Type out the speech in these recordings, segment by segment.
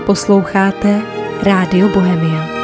Posloucháte Rádio Bohemia.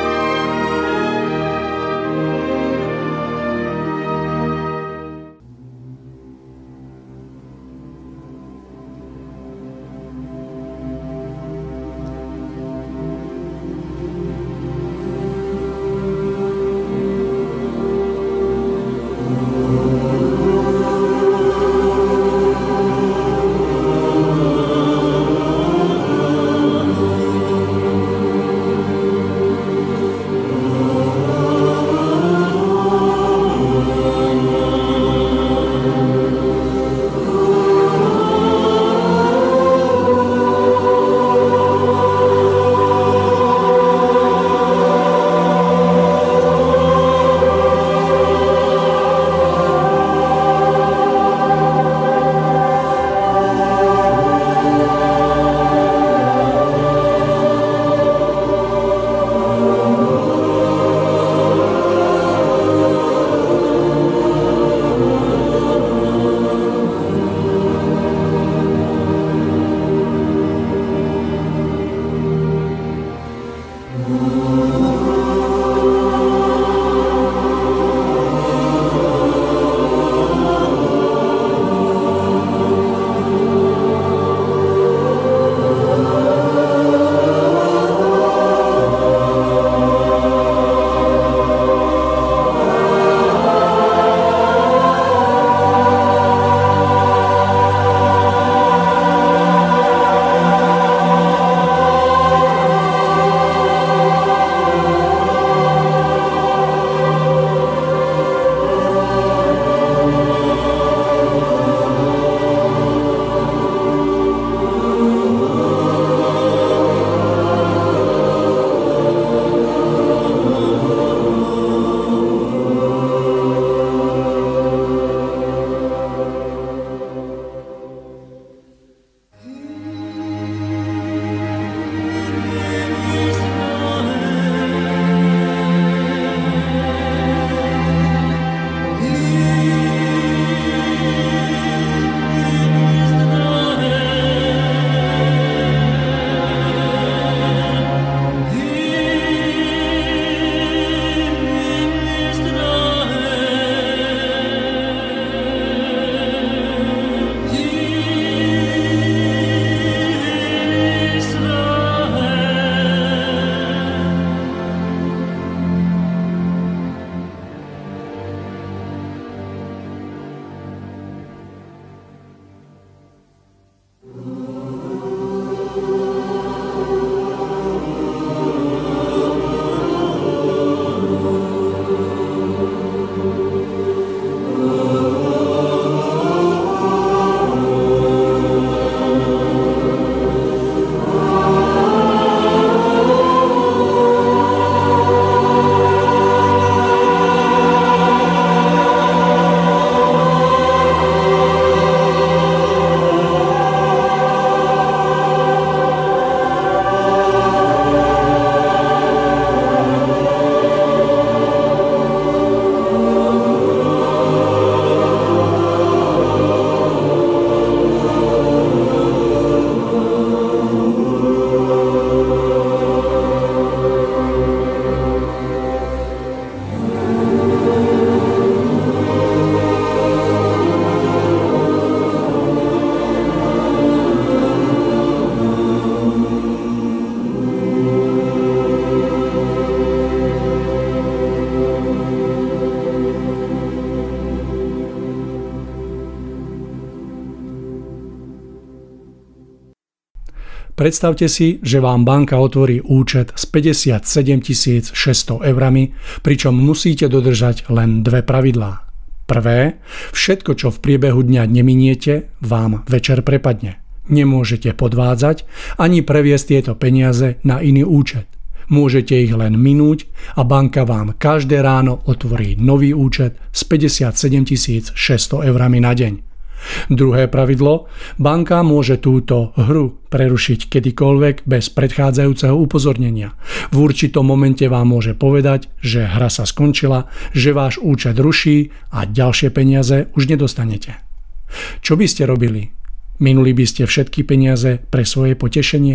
Predstavte si, že vám banka otvorí účet s 57 600 eurami, pričom musíte dodržať len dve pravidlá. Prvé, všetko, čo v priebehu dňa neminiete, vám večer prepadne. Nemôžete podvádzať ani previesť tieto peniaze na iný účet. Môžete ich len minúť a banka vám každé ráno otvorí nový účet s 57 600 eurami na deň. Druhé pravidlo, banka môže túto hru prerušiť kedykoľvek bez predchádzajúceho upozornenia. V určitom momente vám môže povedať, že hra sa skončila, že váš účet ruší a ďalšie peniaze už nedostanete. Čo by ste robili? Minuli by ste všetky peniaze pre svoje potešenie?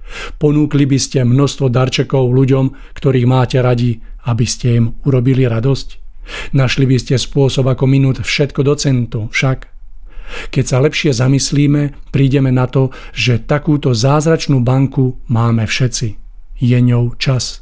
Ponúkli by ste množstvo darčekov ľuďom, ktorých máte radi, aby ste im urobili radosť? Našli by ste spôsob, ako minúť všetko do centu, však? Keď sa lepšie zamyslíme, prídeme na to, že takúto zázračnú banku máme všetci. Je ňou čas.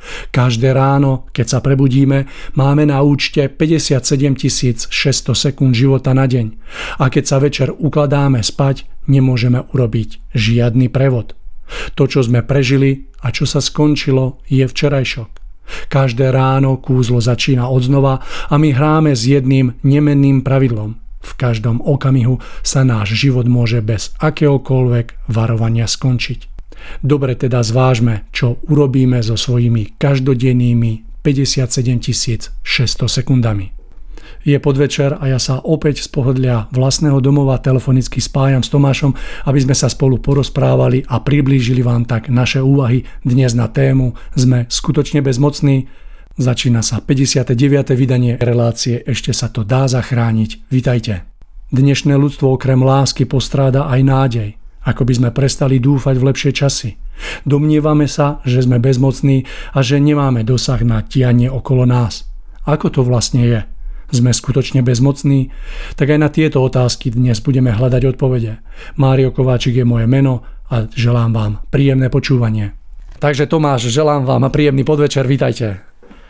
Každé ráno, keď sa prebudíme, máme na účte 57 600 sekúnd života na deň. A keď sa večer ukladáme spať, nemôžeme urobiť žiadny prevod. To, čo sme prežili a čo sa skončilo, je včerajšok. Každé ráno kúzlo začína odznova a my hráme s jedným nemenným pravidlom. V každom okamihu sa náš život môže bez akéhokoľvek varovania skončiť. Dobre teda zvážme, čo urobíme so svojimi každodennými 57 600 sekundami. Je podvečer a ja sa opäť z pohodlia vlastného domova telefonicky spájam s Tomášom, aby sme sa spolu porozprávali a priblížili vám tak naše úvahy dnes na tému Sme skutočne bezmocní. Začína sa 59. vydanie relácie Ešte sa to dá zachrániť. Vitajte. Dnešné ľudstvo okrem lásky postráda aj nádej. Ako by sme prestali dúfať v lepšie časy. Domnievame sa, že sme bezmocní a že nemáme dosah na dianie okolo nás. Ako to vlastne je? Sme skutočne bezmocní? Tak aj na tieto otázky dnes budeme hľadať odpovede. Mário Kováčik je moje meno a želám vám príjemné počúvanie. Takže Tomáš, želám vám príjemný podvečer, vítajte.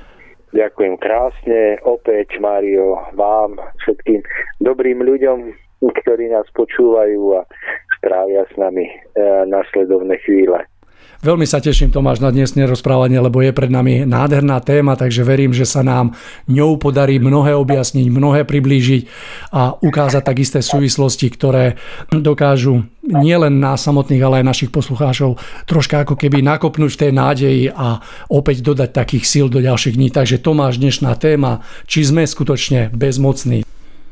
Ďakujem krásne, opäť Mário, vám, všetkým dobrým ľuďom, ktorí nás počúvajú a strávia s nami nasledovné chvíle. Veľmi sa teším, Tomáš, na dnesné rozprávanie, lebo je pred nami nádherná téma, takže verím, že sa nám ňou podarí mnohé objasniť, mnohé priblížiť a ukázať tak isté súvislosti, ktoré dokážu nielen nás samotných, ale aj našich poslucháčov troška ako keby nakopnúť v tej nádeji a opäť dodať takých síl do ďalších dní. Takže Tomáš, dnešná téma, či sme skutočne bezmocní.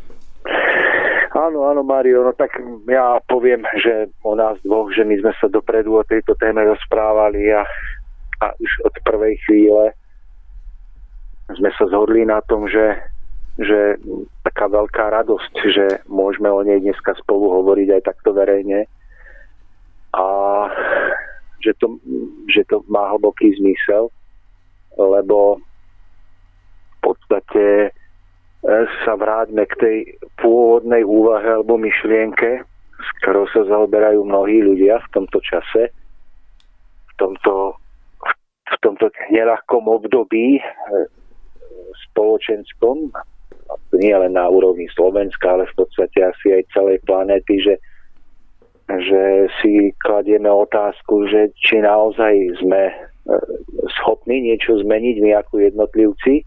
Áno, Mário, no tak ja poviem, že o nás dvoch, že my sme sa dopredu o tejto téme rozprávali a už od prvej chvíle sme sa zhodli na tom, že taká veľká radosť, že môžeme o nej dneska spolu hovoriť aj takto verejne a že to má hlboký zmysel, lebo v podstate sa vráťme k tej pôvodnej úvahe alebo myšlienke, s ktorou sa zaoberajú mnohí ľudia v tomto čase, v tomto neľahkom období spoločenskom, nie len na úrovni Slovenska, ale v podstate asi aj celej planéty, že si kladieme otázku, že či naozaj sme schopní niečo zmeniť my ako jednotlivci,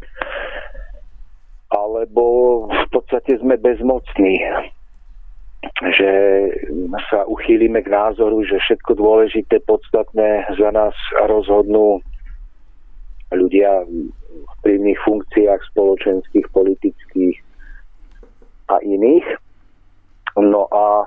alebo v podstate sme bezmocní, že sa uchýlime k názoru, že všetko dôležité, podstatné za nás rozhodnú ľudia v vplyvných funkciách spoločenských, politických a iných. No a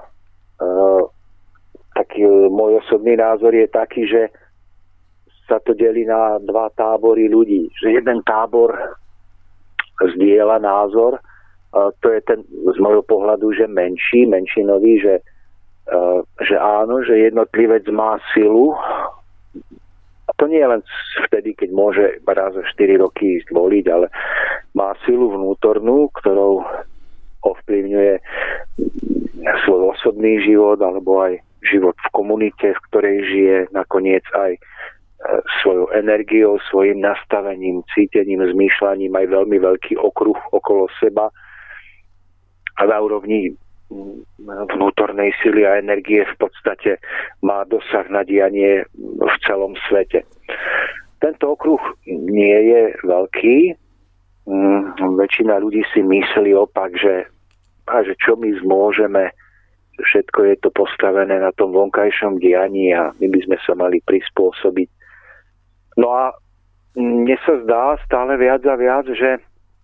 taký môj osobný názor je taký, že sa to delí na dva tábory ľudí. Že jeden tábor zdieľa názor, to je ten z môjho pohľadu, že menšinový, že áno, že jednotlivec má silu. A to nie je len vtedy, keď môže raz za 4 roky ísť voliť, ale má silu vnútornú, ktorou ovplyvňuje svoj osobný život alebo aj život v komunite, v ktorej žije, nakoniec aj svojou energiou, svojim nastavením, cítením, zmýšľaním aj veľmi veľký okruh okolo seba a na úrovni vnútornej sily a energie v podstate má dosah na dianie v celom svete. Tento okruh nie je veľký. Väčšina ľudí si myslí opak, že čo my zmôžeme, všetko je to postavené na tom vonkajšom dianí a my by sme sa mali prispôsobiť. No a mne sa zdá stále viac a viac, že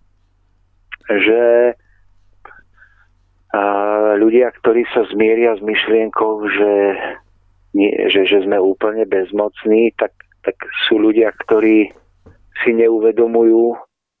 ľudia, ktorí sa zmieria s myšlienkou, že sme úplne bezmocní, tak sú ľudia, ktorí si neuvedomujú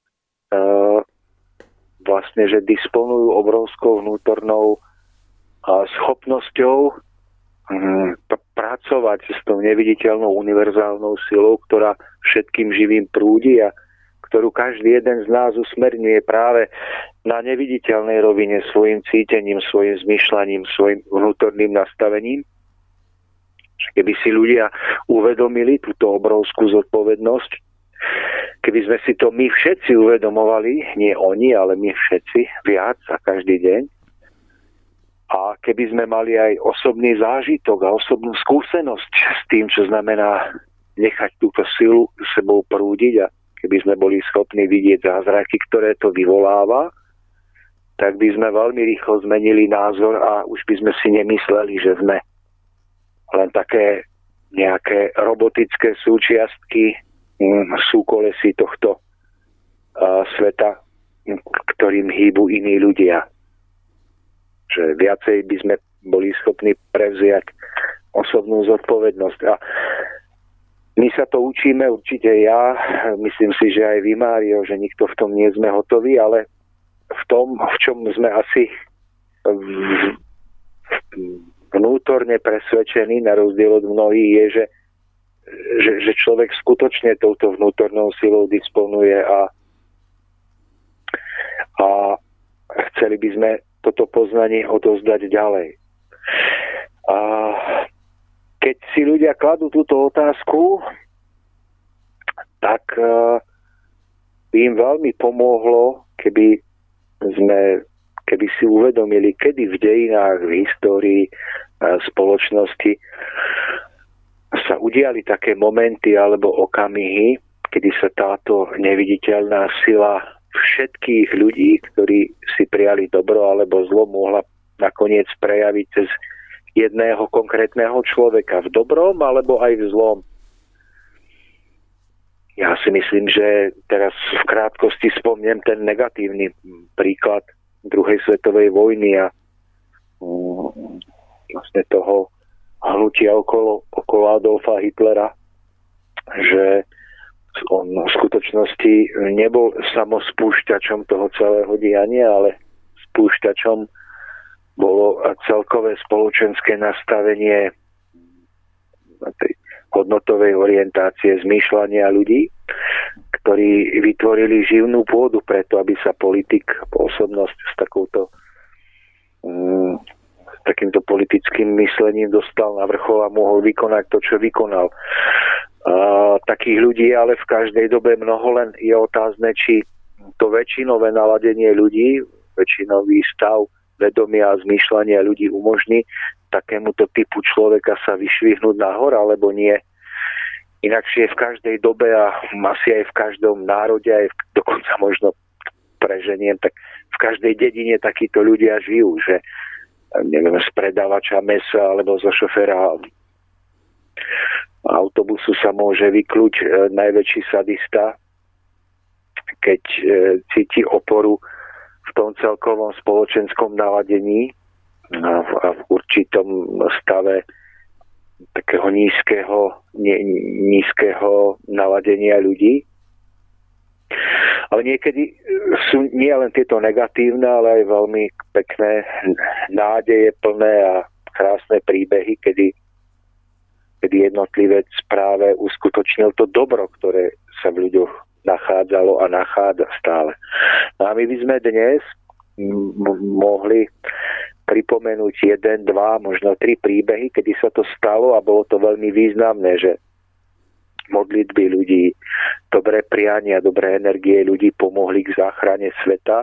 vlastne, že disponujú obrovskou vnútornou schopnosťou pracovať s tou neviditeľnou univerzálnou silou, ktorá všetkým živým prúdi a ktorú každý jeden z nás usmerňuje práve na neviditeľnej rovine svojim cítením, svojim zmýšľaním, svojim vnútorným nastavením. Keby si ľudia uvedomili túto obrovskú zodpovednosť, keby sme si to my všetci uvedomovali, nie oni, ale my všetci, viac a každý deň, a keby sme mali aj osobný zážitok a osobnú skúsenosť s tým, čo znamená nechať túto silu sebou prúdiť a keby sme boli schopní vidieť zázraky, ktoré to vyvoláva, tak by sme veľmi rýchlo zmenili názor a už by sme si nemysleli, že sme len také nejaké robotické súčiastky súkolesí tohto sveta, ktorým hýbu iní ľudia. Že viacej by sme boli schopní prevziať osobnú zodpovednosť. A my sa to učíme, určite ja, myslím si, že aj vy, Mário, že nikto v tom nie sme hotoví, ale v tom, v čom sme asi vnútorne presvedčení, na rozdiel od mnohých, je, že človek skutočne touto vnútornou silou disponuje a chceli by sme toto poznanie odovzdať ďalej. A keď si ľudia kladú túto otázku, tak by im veľmi pomohlo, keby si uvedomili, kedy v dejinách, v histórii spoločnosti sa udiali také momenty alebo okamihy, kedy sa táto neviditeľná sila všetkých ľudí, ktorí si prijali dobro alebo zlo, mohla nakoniec prejaviť cez jedného konkrétneho človeka v dobrom alebo aj v zlom. Ja si myslím, že teraz v krátkosti spomnem ten negatívny príklad druhej svetovej vojny a vlastne toho hnutia okolo Adolfa Hitlera, že on v skutočnosti nebol samospúšťačom toho celého diania, ale spúšťačom bolo celkové spoločenské nastavenie tej hodnotovej orientácie zmýšľania ľudí, ktorí vytvorili živnú pôdu preto, aby sa politik, osobnosť s takýmto politickým myslením dostal na vrchol a mohol vykonať to, čo vykonal. Takých ľudí ale v každej dobe mnoho, len je otázne, či to väčšinové naladenie ľudí, väčšinový stav vedomia a zmýšľania ľudí umožní takémuto typu človeka sa vyšvihnúť nahor, alebo nie. Inakšie v každej dobe a asi aj v každom národe, aj dokonca možno preženiem, tak v každej dedine takíto ľudia žijú, že neviem, z predávača mesa alebo zo šoféra autobusu sa môže vykľuť najväčší sadista, keď cíti oporu v tom celkovom spoločenskom naladení a v určitom stave takého nízkeho naladenia ľudí. Ale niekedy sú nie len tieto negatívne, ale aj veľmi pekné nádeje plné a krásne príbehy, kedy jednotlivec práve uskutočnil to dobro, ktoré sa v ľuďoch nachádzalo a nachádza stále. No a my by sme dnes mohli pripomenúť 1, 2, možno 3 príbehy, kedy sa to stalo a bolo to veľmi významné, že modlitby ľudí, dobré priania, dobré energie ľudí pomohli k záchrane sveta.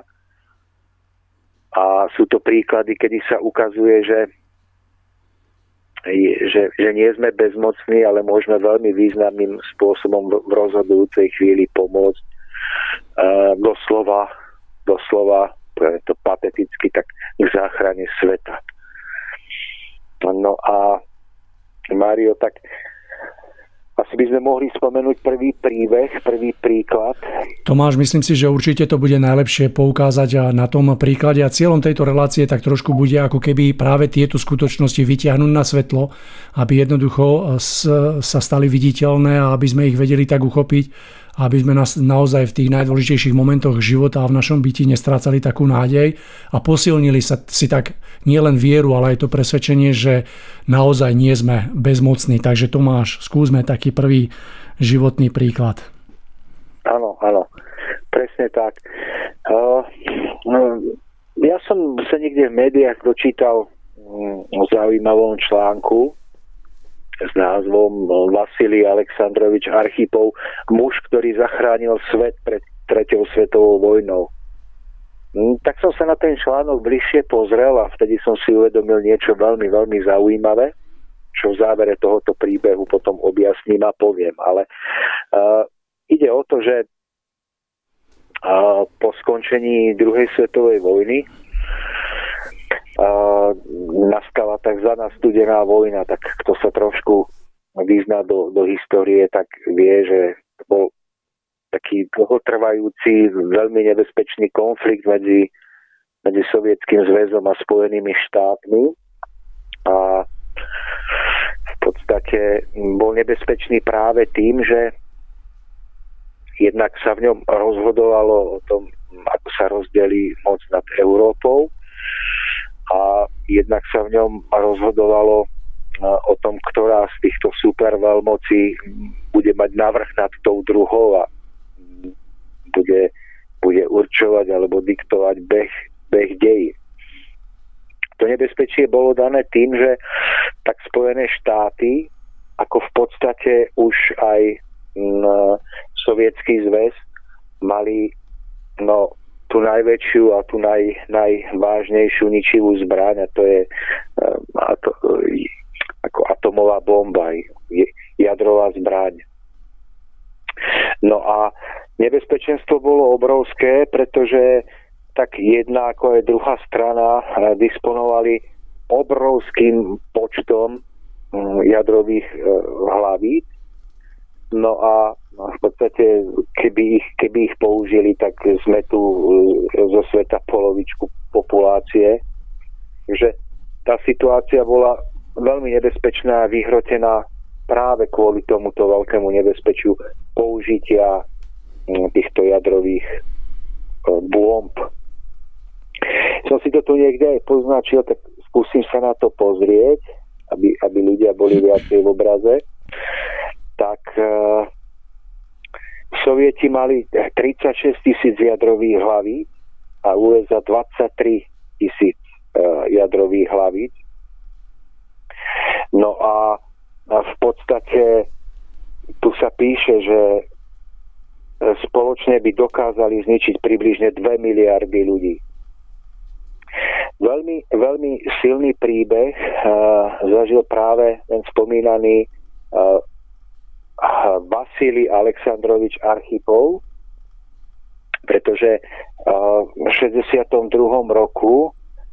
A sú to príklady, kedy sa ukazuje, že nie sme bezmocní, ale môžeme veľmi významným spôsobom v rozhodujúcej chvíli pomôcť doslova, to pateticky, tak k záchrane sveta. No a Mário, tak asi by sme mohli spomenúť prvý príbeh, prvý príklad. Tomáš, myslím si, že určite to bude najlepšie poukázať na tom príklade a cieľom tejto relácie tak trošku bude ako keby práve tieto skutočnosti vytiahnuť na svetlo, aby jednoducho sa stali viditeľné a aby sme ich vedeli tak uchopiť aby sme nás naozaj v tých najdôležitejších momentoch života a v našom byti nestrácali takú nádej a posilnili si tak nielen vieru, ale aj to presvedčenie, že naozaj nie sme bezmocní. Takže Tomáš, skúsme taký prvý životný príklad. Áno, presne tak. Ja som sa niekde v médiách dočítal o zaujímavom článku s názvom Vasilij Aleksandrovič Archipov, muž, ktorý zachránil svet pred 3. svetovou vojnou. Tak som sa na ten článok bližšie pozrel a vtedy som si uvedomil niečo veľmi, veľmi zaujímavé, čo v závere tohoto príbehu potom objasním a poviem. Ale ide o to, že po skončení druhej svetovej vojny nastala tzv. Studená vojna, tak kto sa trošku vyzná do histórie, tak vie, že to bol taký dlhotrvajúci, veľmi nebezpečný konflikt medzi Sovietským zväzom a Spojenými štátmi a v podstate bol nebezpečný práve tým, že jednak sa v ňom rozhodovalo o tom, ako sa rozdelí moc nad Európou a jednak sa v ňom rozhodovalo o tom, ktorá z týchto superveľmocí bude mať navrch nad tou druhou a bude určovať alebo diktovať beh dejí. To nebezpečie bolo dané tým, že tak Spojené štáty, ako v podstate už aj Sovietský zväz, mali tú najväčšiu a tú najvážnejšiu ničivú zbraň, a to je ako atomová bomba, jadrová zbraň. No a nebezpečenstvo bolo obrovské, pretože tak jedna ako aj druhá strana disponovali obrovským počtom jadrových hlavíc. No a v podstate, keby ich použili, tak sme tu zo sveta polovičku populácie. Takže tá situácia bola veľmi nebezpečná a vyhrotená práve kvôli tomuto veľkému nebezpečiu použitia týchto jadrových bomb. Som si to tu niekde aj poznačil, tak skúsim sa na to pozrieť, aby ľudia boli viacej v obraze. Tak Sovieti mali 36 000 jadrových hlavíc a USA 23 000 jadrových hlavíc. No a v podstate tu sa píše, že spoločne by dokázali zničiť približne 2 miliardy ľudí. Veľmi, veľmi silný príbeh zažil práve ten spomínaný Vasilij Aleksandrovič Archipov, pretože v 62. roku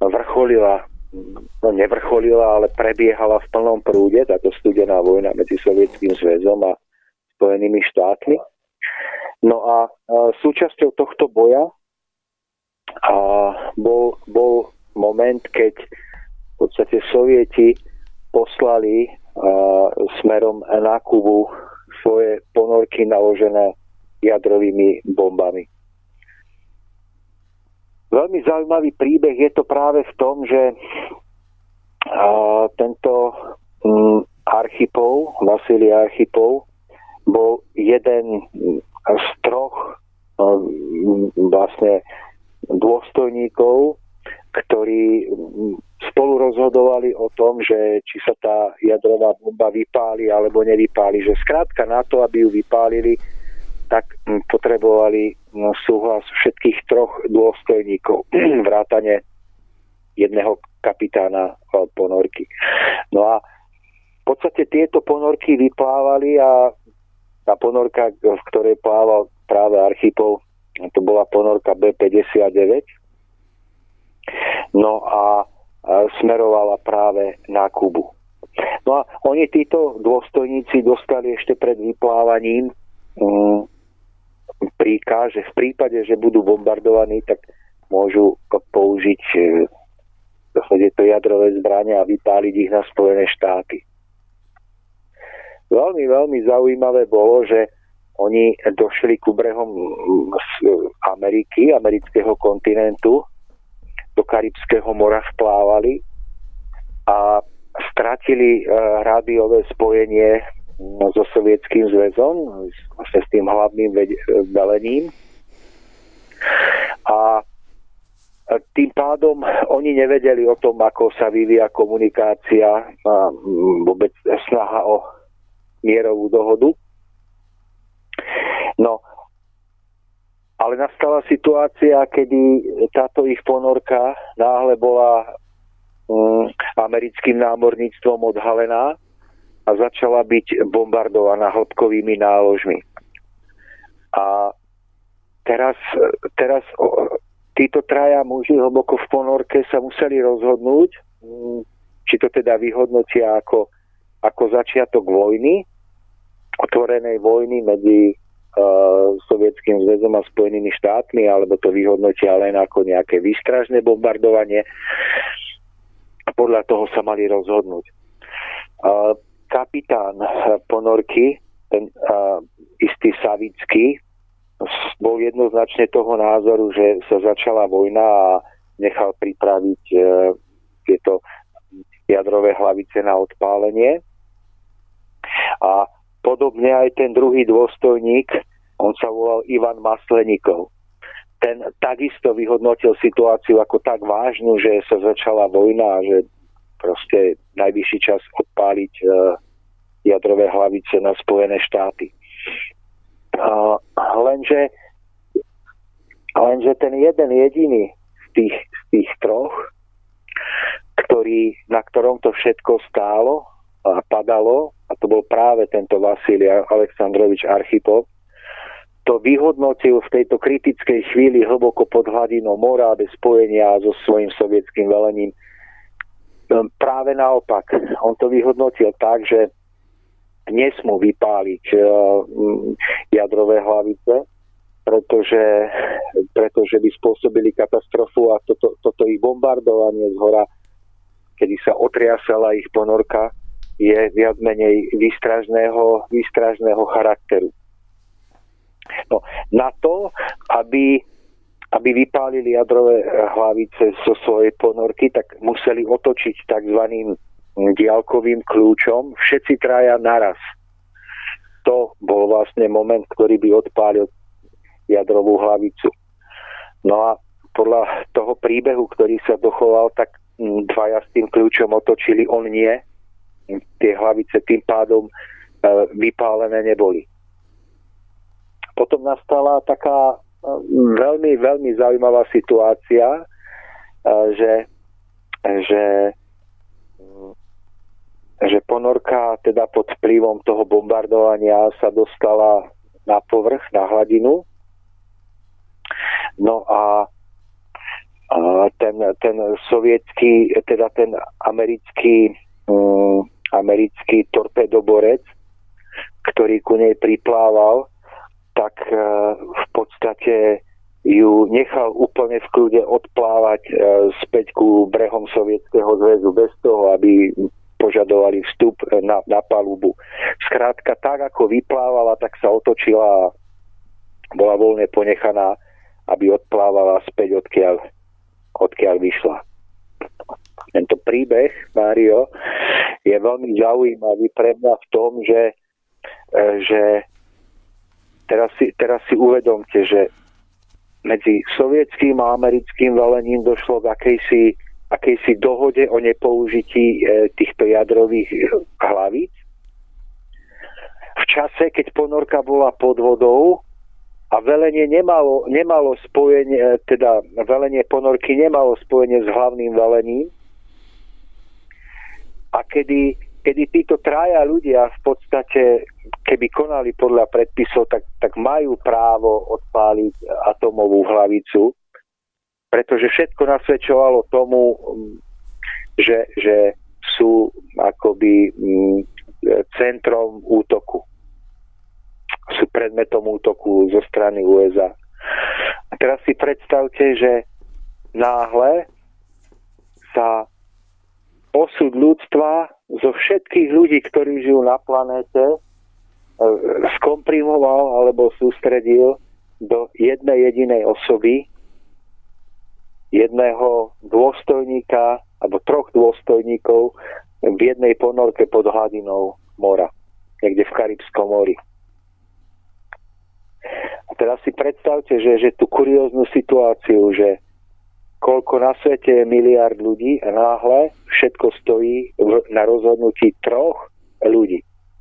nevrcholila, ale prebiehala v plnom prúde táto studená vojna medzi Sovietským zväzom a Spojenými štátmi. No a súčasťou tohto boja bol moment, keď v podstate Sovieti poslali smerom na Kubu svoje ponorky naložené jadrovými bombami. Veľmi zaujímavý príbeh je to práve v tom, že tento Archipov, Vasilij Archipov, bol jeden z troch vlastne dôstojníkov, ktorí spolu rozhodovali o tom, že či sa tá jadrová bomba vypáli alebo nevypáli. Že skrátka na to, aby ju vypálili, tak potrebovali súhlas všetkých troch dôstojníkov, vrátane jedného kapitána ponorky. No a v podstate tieto ponorky vyplávali a tá ponorka, v ktorej plával práve Archipov, to bola ponorka B-59. No a smerovala práve na Kubu. No a oni, títo dôstojníci, dostali ešte pred vyplávaním príkaz, že v prípade, že budú bombardovaní, tak môžu použiť to jadrové zbrane a vypáliť ich na Spojené štáty. Veľmi, veľmi zaujímavé bolo, že oni došli ku brehom Ameriky, amerického kontinentu, do Karibského mora vplávali a stratili rádiové spojenie so Sovietským zväzom, vlastne s tým hlavným velením. A tým pádom oni nevedeli o tom, ako sa vyvíja komunikácia a vôbec snaha o mierovú dohodu. No, ale nastala situácia, kedy táto ich ponorka náhle bola americkým námorníctvom odhalená a začala byť bombardovaná hĺbkovými náložmi. A teraz títo traja muži hlboko v ponorke sa museli rozhodnúť, či to teda vyhodnotia ako začiatok vojny, otvorenej vojny medzi Sovietským zväzom a Spojenými štátmi, alebo to vyhodnotia len ako nejaké výstražné bombardovanie. A podľa toho sa mali rozhodnúť. Kapitán ponorky, ten istý Savický, bol jednoznačne toho názoru, že sa začala vojna a nechal pripraviť tieto jadrové hlavice na odpálenie. A podobne aj ten druhý dôstojník, on sa volal Ivan Masleníkov. Ten takisto vyhodnotil situáciu ako tak vážnu, že sa začala vojna a že proste najvyšší čas odpáliť jadrové hlavice na Spojené štáty. Lenže ten jeden jediný z tých troch, na ktorom to všetko stálo a padalo, a to bol práve tento Vasilij Aleksandrovič Archipov, to vyhodnotil v tejto kritickej chvíli hlboko pod hladinou mora bez spojenia so svojím sovietským velením. Práve naopak, on to vyhodnotil tak, že nesmú vypáliť jadrové hlavice, pretože by spôsobili katastrofu a toto ich bombardovanie zhora, kedy sa otriasala ich ponorka, je viac menej výstražného charakteru. No, na to, aby vypálili jadrové hlavice zo svojej ponorky, tak museli otočiť takzvaným diaľkovým kľúčom všetci traja naraz. To bol vlastne moment, ktorý by odpálil jadrovú hlavicu. No a podľa toho príbehu, ktorý sa dochoval, tak dvaja s tým kľúčom otočili, on nie. Tie hlavice tým pádom vypálené neboli. Potom nastala taká veľmi, veľmi zaujímavá situácia, že ponorka teda pod vplyvom toho bombardovania sa dostala na povrch, na hladinu. No a ten sovietský, teda ten americký torpedoborec, ktorý ku nej priplával, tak v podstate ju nechal úplne v kľude odplávať späť ku brehom Sovietskeho zväzu bez toho, aby požadovali vstup na palubu. Skrátka, tak ako vyplávala, tak sa otočila a bola voľne ponechaná, aby odplávala späť, odkiaľ vyšla. Tento príbeh, Mário, je veľmi zaujímavý pre mňa v tom, že teraz si uvedomte, že medzi sovietským a americkým velením došlo k akejsi dohode o nepoužití týchto jadrových hlavíc. V čase, keď ponorka bola pod vodou a velenie nemalo spojenie, teda velenie ponorky nemalo spojenie s hlavným velením, a kedy títo traja ľudia v podstate, keby konali podľa predpisov, tak majú právo odpáliť atomovú hlavicu, pretože všetko nasvedčovalo tomu, že sú akoby centrom útoku. Sú predmetom útoku zo strany USA. A teraz si predstavte, že náhle sa osud ľudstva zo všetkých ľudí, ktorí žijú na planéte, skomprimoval alebo sústredil do jednej jedinej osoby, jedného dôstojníka alebo 3 dôstojníkov v jednej ponorke pod hladinou mora, niekde v Karibskom mori. A teraz si predstavte, že tú kurióznu situáciu, že koľko na svete je miliard ľudí a náhle všetko stojí na rozhodnutí 3 ľudí.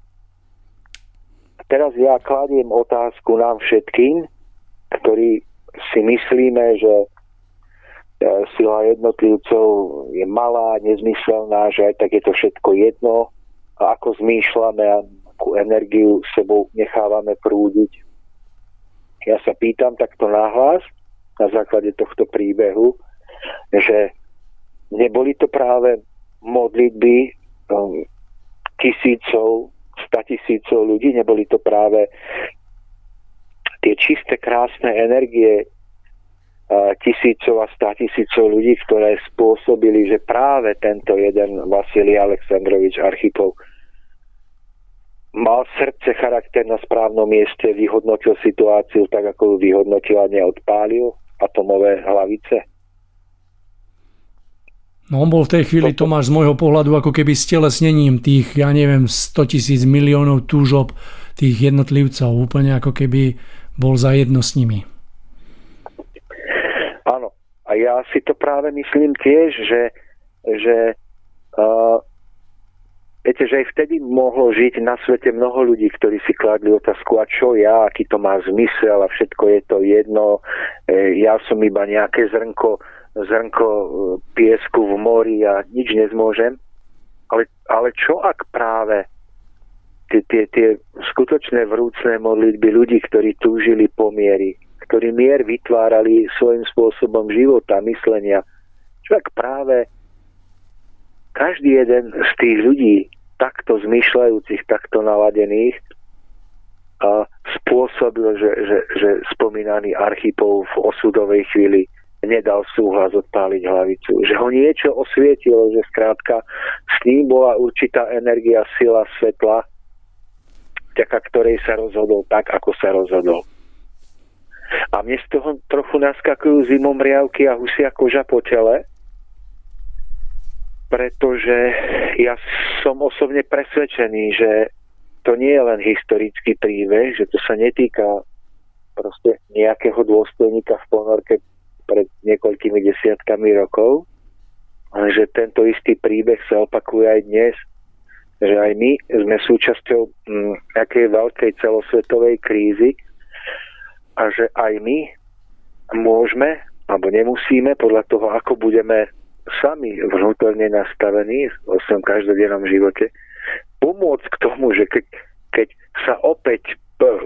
A teraz ja kladiem otázku nám všetkým, ktorí si myslíme, že sila jednotlivcov je malá, nezmyselná, že aj tak je to všetko jedno a ako zmýšľame a akú energiu sebou nechávame prúdiť. Ja sa pýtam takto nahlas na základe tohto príbehu, že neboli to práve modlitby tisícov, 100 000 ľudí, neboli to práve tie čisté, krásne energie tisícov a 100 000 ľudí, ktoré spôsobili, že práve tento jeden Vasilij Aleksandrovič Archipov mal srdce, charakter na správnom mieste, vyhodnotil situáciu tak, ako ju vyhodnotil a neodpálil atomové hlavice. No on bol v tej chvíli, Tomáš, z môjho pohľadu ako keby stelesnením tých, 100 000 miliónov túžob tých jednotlivcov. Úplne ako keby bol zajedno s nimi. Áno. A ja si to práve myslím tiež, že viete, že aj vtedy mohlo žiť na svete mnoho ľudí, ktorí si kladli otázku, a čo ja, aký to má zmysel a všetko je to jedno. Ja som iba nejaké zrnko piesku v mori a nič nezmôžem. Ale čo ak práve tie skutočné vrúcne modlitby ľudí, ktorí túžili po miery, ktorí mier vytvárali svojím spôsobom života, myslenia, čo ak práve každý jeden z tých ľudí, takto zmýšľajúcich, takto naladených, a spôsobil, že spomínaný Archipov v osudovej chvíli nedal súhlas odpáliť hlavicu. Že ho niečo osvietilo, že skrátka s ním bola určitá energia, sila, svetla, vďaka ktorej sa rozhodol tak, ako sa rozhodol. A mne z toho trochu naskakujú zimomriavky a husia koža po tele, pretože ja som osobne presvedčený, že to nie je len historický príbeh, že to sa netýka proste nejakého dôstojníka v ponorke pred niekoľkými desiatkami rokov, ale že tento istý príbeh sa opakuje aj dnes, že aj my sme súčasťou nejakej veľkej celosvetovej krízy a že aj my môžeme, alebo nemusíme, podľa toho, ako budeme sami vnútorne nastavení vo svojom každodennom živote, pomôcť k tomu, že keď sa opäť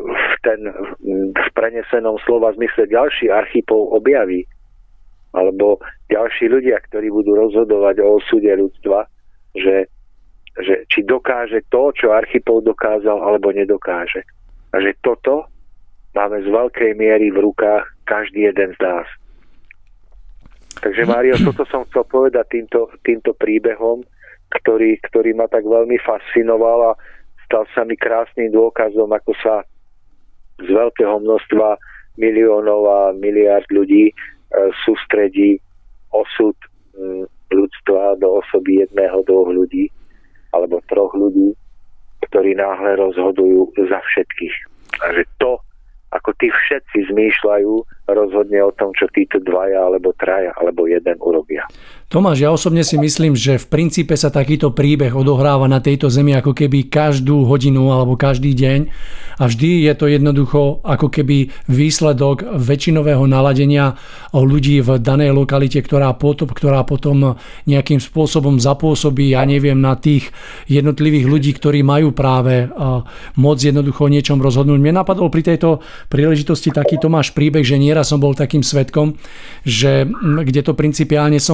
v prenesenom slova zmysle ďalší Archipov objaví, alebo ďalší ľudia, ktorí budú rozhodovať o osude ľudstva, že či dokáže to, čo Archipov dokázal, alebo nedokáže. A že toto máme z veľkej miery v rukách každý jeden z nás. Takže Mário, toto som chcel povedať týmto príbehom, ktorý ma tak veľmi fascinoval a stal sa mi krásnym dôkazom, ako sa z veľkého množstva miliónov a miliárd ľudí sústredí osud ľudstva do osoby 1, 2 ľudí alebo 3 ľudí, ktorí náhle rozhodujú za všetkých. A že to, ako tí všetci zmýšľajú, rozhodne o tom, čo títo 2 alebo 3 alebo 1 urobia. Tomáš, ja osobne si myslím, že v princípe sa takýto príbeh odohráva na tejto zemi ako keby každú hodinu alebo každý deň a vždy je to jednoducho ako keby výsledok väčšinového naladenia ľudí v danej lokalite, ktorá potom nejakým spôsobom zapôsobí, ja neviem, na tých jednotlivých ľudí, ktorí majú práve moc jednoducho o niečom rozhodnúť. Mne napadol pri tejto príležitosti taký Tomáš príbeh, že nieraz som bol takým svedkom, že kde to principiálne som videl,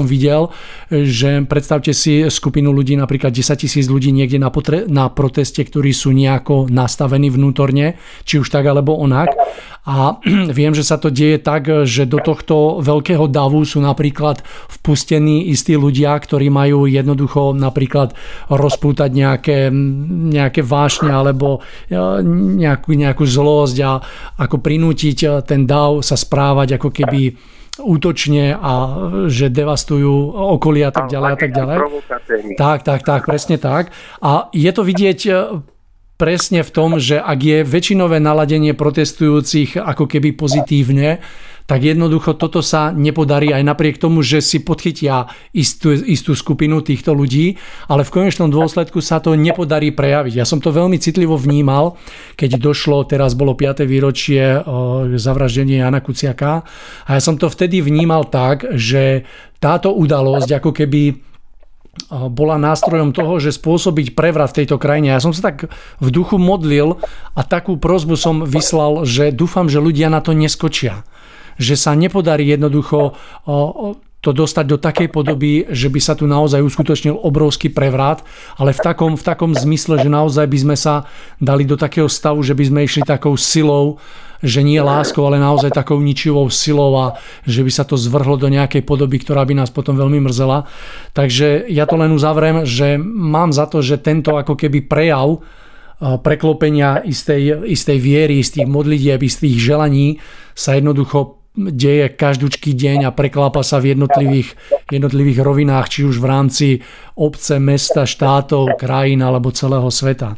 povedal, že predstavte si skupinu ľudí, napríklad 10 000 ľudí niekde na proteste, ktorí sú nejako nastavení vnútorne, či už tak alebo onak. A viem, že sa to deje tak, že do tohto veľkého davu sú napríklad vpustení istí ľudia, ktorí majú jednoducho napríklad rozpútať nejaké vášne alebo nejakú zlosť a ako prinútiť ten dav sa správať ako keby útočne a že devastujú okolia a tak ďalej a tak ďalej. Tak, presne tak. A je to vidieť presne v tom, že ak je väčšinové naladenie protestujúcich ako keby pozitívne, tak jednoducho toto sa nepodarí aj napriek tomu, že si podchytia istú skupinu týchto ľudí, ale v konečnom dôsledku sa to nepodarí prejaviť. Ja som to veľmi citlivo vnímal, keď došlo, teraz bolo 5. výročie zavraždenia Jana Kuciaka a ja som to vtedy vnímal tak, že táto udalosť ako keby bola nástrojom toho, že spôsobiť prevrat v tejto krajine. Ja som sa tak v duchu modlil a takú prosbu som vyslal, že dúfam, že ľudia na to neskočia. Že sa nepodarí jednoducho to dostať do takej podoby, že by sa tu naozaj uskutočnil obrovský prevrat, ale v takom zmysle, že naozaj by sme sa dali do takého stavu, že by sme išli takou silou, že nie láskou, ale naozaj takou ničivou silou a že by sa to zvrhlo do nejakej podoby, ktorá by nás potom veľmi mrzela. Takže ja to len uzavriem, že mám za to, že tento ako keby prejav preklopenia istej viery, istých modlitieb, istých želaní sa jednoducho deje každúčky deň a preklápa sa v jednotlivých rovinách, či už v rámci obce, mesta, štátov, krajín alebo celého sveta.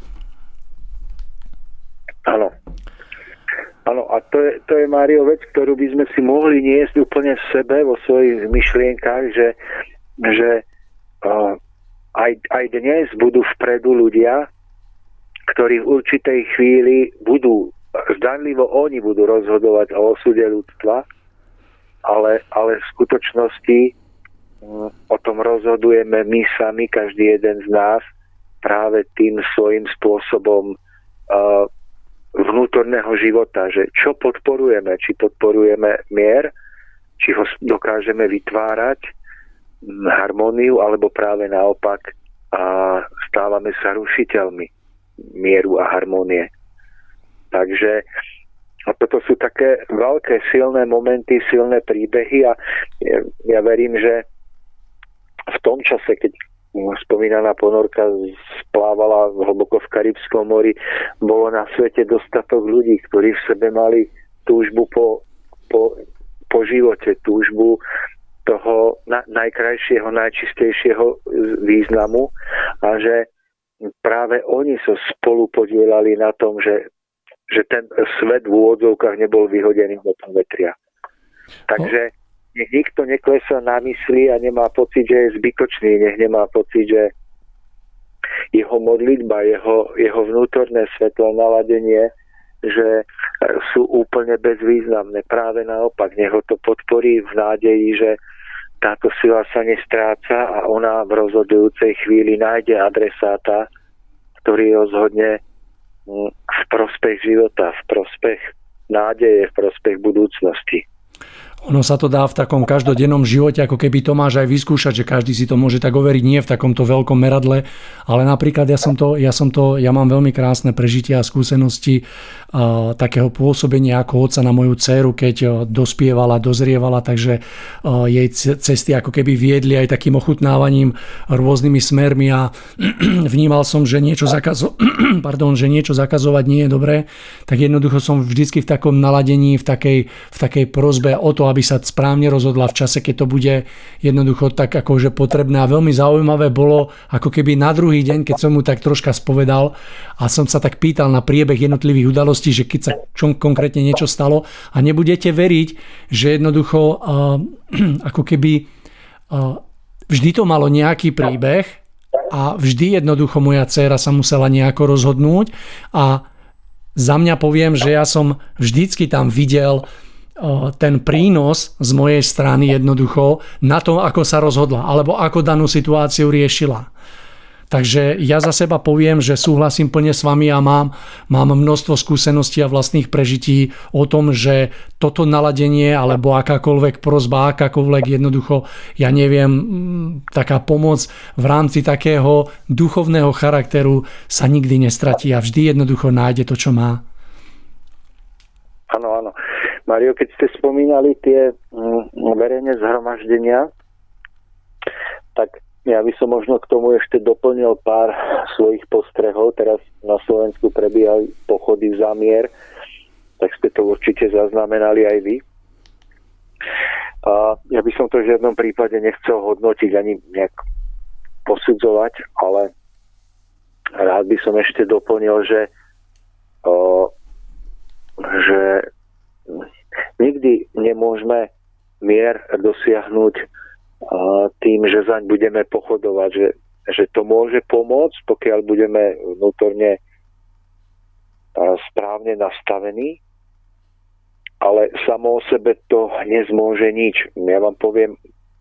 Áno. Áno, a to je, Mário, vec, ktorú by sme si mohli niesť úplne v sebe, vo svojich myšlienkach, že aj dnes budú vpredu ľudia, ktorí v určitej chvíli zdanlivo oni budú rozhodovať o osude ľudstva, ale v skutočnosti o tom rozhodujeme my sami, každý jeden z nás, práve tým svojím spôsobom vnútorného života, že čo podporujeme, či podporujeme mier, či ho dokážeme vytvárať, harmóniu, alebo práve naopak stávame sa rušiteľmi mieru a harmónie. Takže toto sú také veľké, silné momenty, silné príbehy a ja verím, že v tom čase, keď spomínaná ponorka splávala hlboko v Karibskom mori, bolo na svete dostatok ľudí, ktorí v sebe mali túžbu po živote, túžbu toho najkrajšieho, najčistejšieho významu a že práve oni sa spolu podielali na tom, že ten svet v úvodzovkách nebol vyhodený do povetria. Takže nech nikto neklesá na mysli a nemá pocit, že je zbytočný, nech nemá pocit, že jeho modlitba, jeho vnútorné svetlé naladenie, že sú úplne bezvýznamné. Práve naopak, nech ho to podporí v nádeji, že táto sila sa nestráca a ona v rozhodujúcej chvíli nájde adresáta, ktorý rozhodne v prospech života, v prospech nádeje, v prospech budúcnosti. Ono sa to dá v takom každodennom živote, ako keby to máš aj vyskúšať, že každý si to môže tak overiť, nie v takomto veľkom meradle, ale napríklad ja mám veľmi krásne prežitia a skúsenosti takého pôsobenia ako otca na moju dcéru, keď dospievala, dozrievala, takže jej cesty ako keby viedli aj takým ochutnávaním rôznymi smermi a vnímal som, že niečo zakazovať nie je dobré, tak jednoducho som vždycky v takom naladení, v takej prosbe o to, aby sa správne rozhodla v čase, keď to bude jednoducho tak akože potrebné. A veľmi zaujímavé bolo, ako keby na druhý deň, keď som mu tak troška spovedal a som sa tak pýtal na priebeh jednotlivých udalostí, že keď sa konkrétne niečo stalo a nebudete veriť, že jednoducho ako keby vždy to malo nejaký príbeh a vždy jednoducho moja dcéra sa musela nejako rozhodnúť a za mňa poviem, že ja som vždycky tam videl ten prínos z mojej strany jednoducho na to, ako sa rozhodla alebo ako danú situáciu riešila. Takže ja za seba poviem, že súhlasím plne s vami a mám množstvo skúseností a vlastných prežití o tom, že toto naladenie alebo akákoľvek prosba, akákoľvek jednoducho, ja neviem, taká pomoc v rámci takého duchovného charakteru sa nikdy nestratí a vždy jednoducho nájde to, čo má. Áno, áno. Mario, keď ste spomínali tie verejné zhromaždenia, tak ja by som možno k tomu ešte doplnil pár svojich postrehov. Teraz na Slovensku prebiehajú pochody za mier, tak ste to určite zaznamenali aj vy. A ja by som to v žiadnom prípade nechcel hodnotiť ani nejak posudzovať, ale rád by som ešte doplnil, že nikdy nemôžeme mier dosiahnuť tým, že zaň budeme pochodovať, že to môže pomôcť, pokiaľ budeme vnútorne správne nastavení, ale samo o sebe to nezmôže nič. Ja vám poviem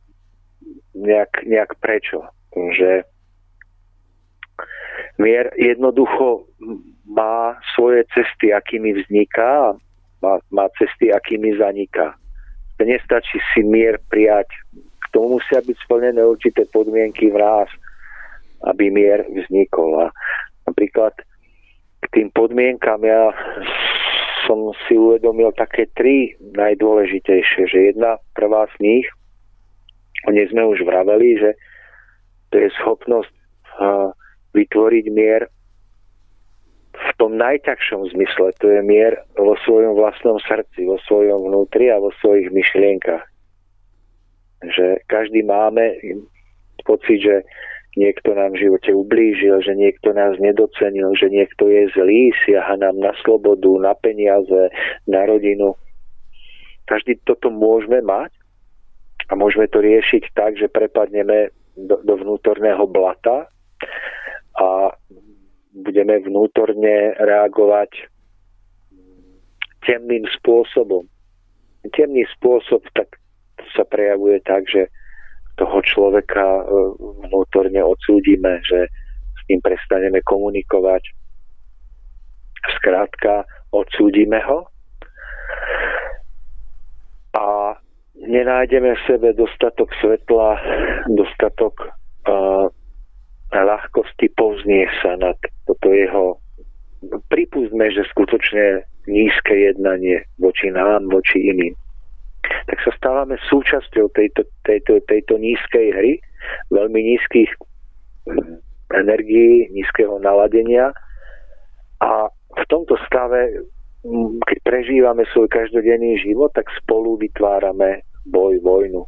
nejak prečo. Že mier jednoducho má svoje cesty, akými vzniká, a má cesty, akými zaniká. Nestačí si mier prijať. K tomu musia byť splnené určité podmienky v nás, aby mier vznikol. A napríklad k tým podmienkam ja som si uvedomil také 3 najdôležitejšie, že prvá z nich, o nej sme už vraveli, že to je schopnosť vytvoriť mier v tom najťažšom zmysle. To je mier vo svojom vlastnom srdci, vo svojom vnútri a vo svojich myšlienkach. Že každý máme pocit, že niekto nám v živote ublížil, že niekto nás nedocenil, že niekto je zlý, siaha nám na slobodu, na peniaze, na rodinu. Každý toto môžeme mať a môžeme to riešiť tak, že prepadneme do vnútorného blata a budeme vnútorne reagovať temným spôsobom. Temný spôsob tak sa prejavuje tak, že toho človeka vnútorne odsúdime, že s ním prestaneme komunikovať. Skrátka, odsúdime ho a nenájdeme v sebe dostatok svetla, dostatok ľahkosti povznieť sa nad toto jeho. Pripustme, že skutočne nízke jednanie voči nám, voči iným. Tak sa stávame súčasťou tejto nízkej hry, veľmi nízkych energií, nízkeho naladenia a v tomto stave, keď prežívame svoj každodenný život, tak spolu vytvárame vojnu.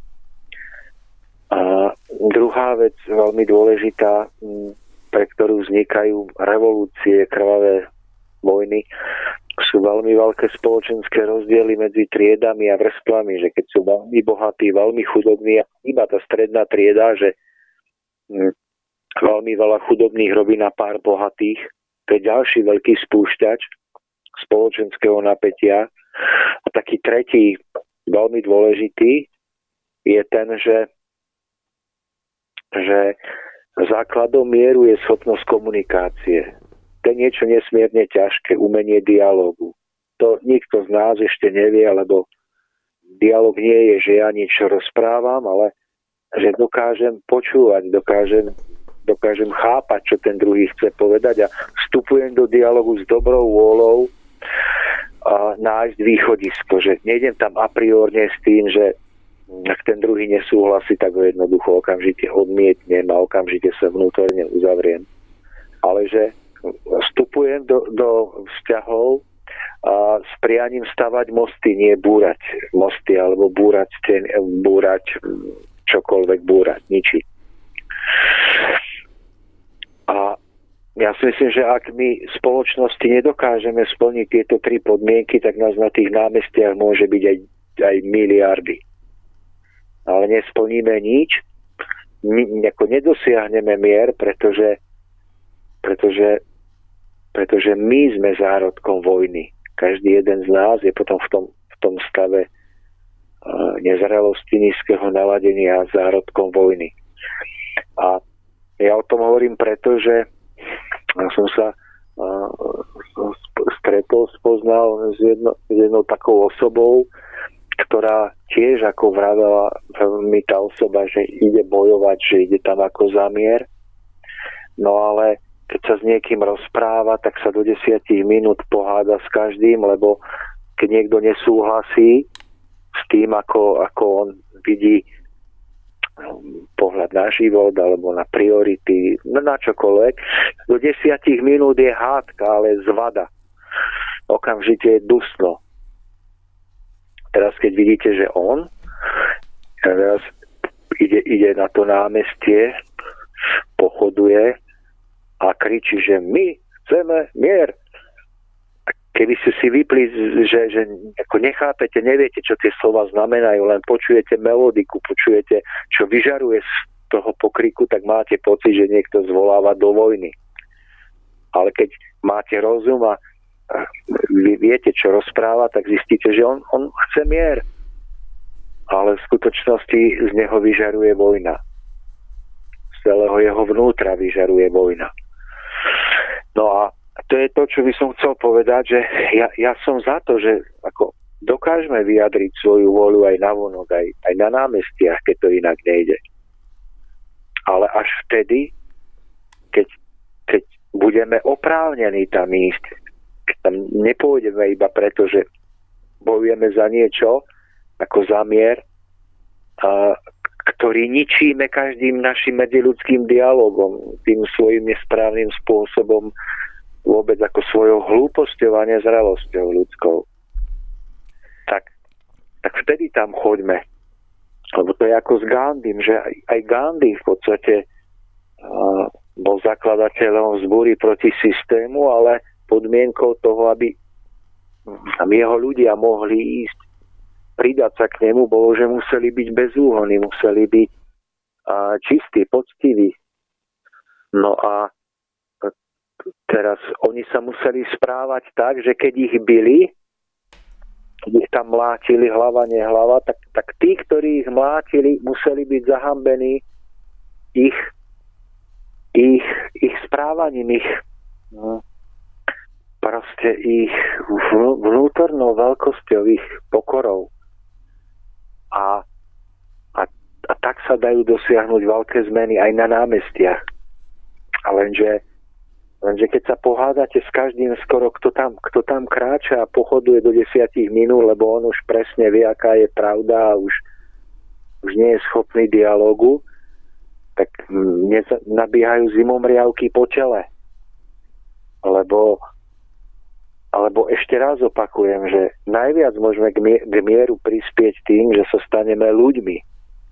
A druhá vec, veľmi dôležitá, pre ktorú vznikajú revolúcie, krvavé vojny, sú veľmi veľké spoločenské rozdiely medzi triedami a vrstvami, že keď sú veľmi bohatí, veľmi chudobní a iba tá stredná trieda, že veľmi veľa chudobných robí na pár bohatých, to je ďalší veľký spúšťač spoločenského napätia. A taký tretí, veľmi dôležitý, je ten, že základom mieru je schopnosť komunikácie. To je niečo nesmierne ťažké, umenie dialógu. To nikto z nás ešte nevie, lebo dialóg nie je, že ja niečo rozprávam, ale že dokážem počúvať, dokážem chápať, čo ten druhý chce povedať a vstupujem do dialógu s dobrou vôľou a nájsť východisko, že nejdem tam a priorne s tým, že ak ten druhý nesúhlasí, tak ho jednoducho okamžite odmietnem a okamžite sa vnútorne uzavriem. Ale že vstupujem do vzťahov a s prianím stavať mosty, nie búrať mosty alebo búrať čokoľvek, ničiť. A ja si myslím, že ak my v spoločnosti nedokážeme splniť tieto 3 podmienky, tak nás na tých námestiach môže byť aj miliardy. Ale nesplníme nič, nedosiahneme mier, pretože my sme zárodkom vojny. Každý jeden z nás je potom v tom stave nezrelosti, nízkeho naladenia zárodkom vojny. A Ja o tom hovorím preto, že som sa stretol, spoznal s jednou takou osobou, ktorá tiež ako vravela mi tá osoba, že ide bojovať, že ide tam ako za mier. No ale keď sa s niekým rozpráva, tak sa do 10 minút poháda s každým, lebo keď niekto nesúhlasí s tým, ako on vidí pohľad na život alebo na priority, na čokoľvek, do 10 minút je hádka, ale zvada. Okamžite je dusno. Teraz keď vidíte, že on teraz ide na to námestie, pochoduje a kričí, že my chceme mier. Keby ste si vypli, že ako nechápete, neviete, čo tie slova znamenajú, len počujete melodiku, počujete, čo vyžaruje z toho pokriku, tak máte pocit, že niekto zvoláva do vojny. Ale keď máte rozum a vy viete, čo rozpráva, tak zistíte, že on chce mier. Ale v skutočnosti z neho vyžaruje vojna. Z celého jeho vnútra vyžaruje vojna. No a to je to, čo by som chcel povedať, že ja som za to, že ako dokážeme vyjadriť svoju voľu aj navonok, aj na námestiach, keď to inak nejde. Ale až vtedy, keď budeme oprávnení tam ísť, keď tam nepôjdeme iba preto, že bojujeme za niečo, ako za mier, ktorý ničíme každým našim medziľudským dialogom, tým svojím nesprávnym spôsobom, vôbec ako svojou hlúposťou a nezrelosťou ľudskou. Tak vtedy tam choďme. Lebo to je ako s Gandhim, že aj Gandhi v podstate bol zakladateľom vzbúry proti systému, ale podmienkou toho, aby tam jeho ľudia mohli ísť, pridať sa k nemu, bolo, že museli byť bezúhonní, museli byť čistí, poctiví. No a teraz oni sa museli správať tak, že keď ich bili, keď ich tam mlátili hlava, nehlava, tak tí, ktorí ich mlátili, museli byť zahambení ich správaním, proste ich vnútornou veľkosťou, ich pokorou. A tak sa dajú dosiahnuť veľké zmeny aj na námestiach. A lenže keď sa pohádate s každým skoro, kto tam kráča a pochoduje do 10 minút, lebo on už presne vie, aká je pravda a už nie je schopný dialógu, tak nabiehajú zimomriavky po tele. Alebo ešte raz opakujem, že najviac môžeme k mieru prispieť tým, že sa staneme ľuďmi.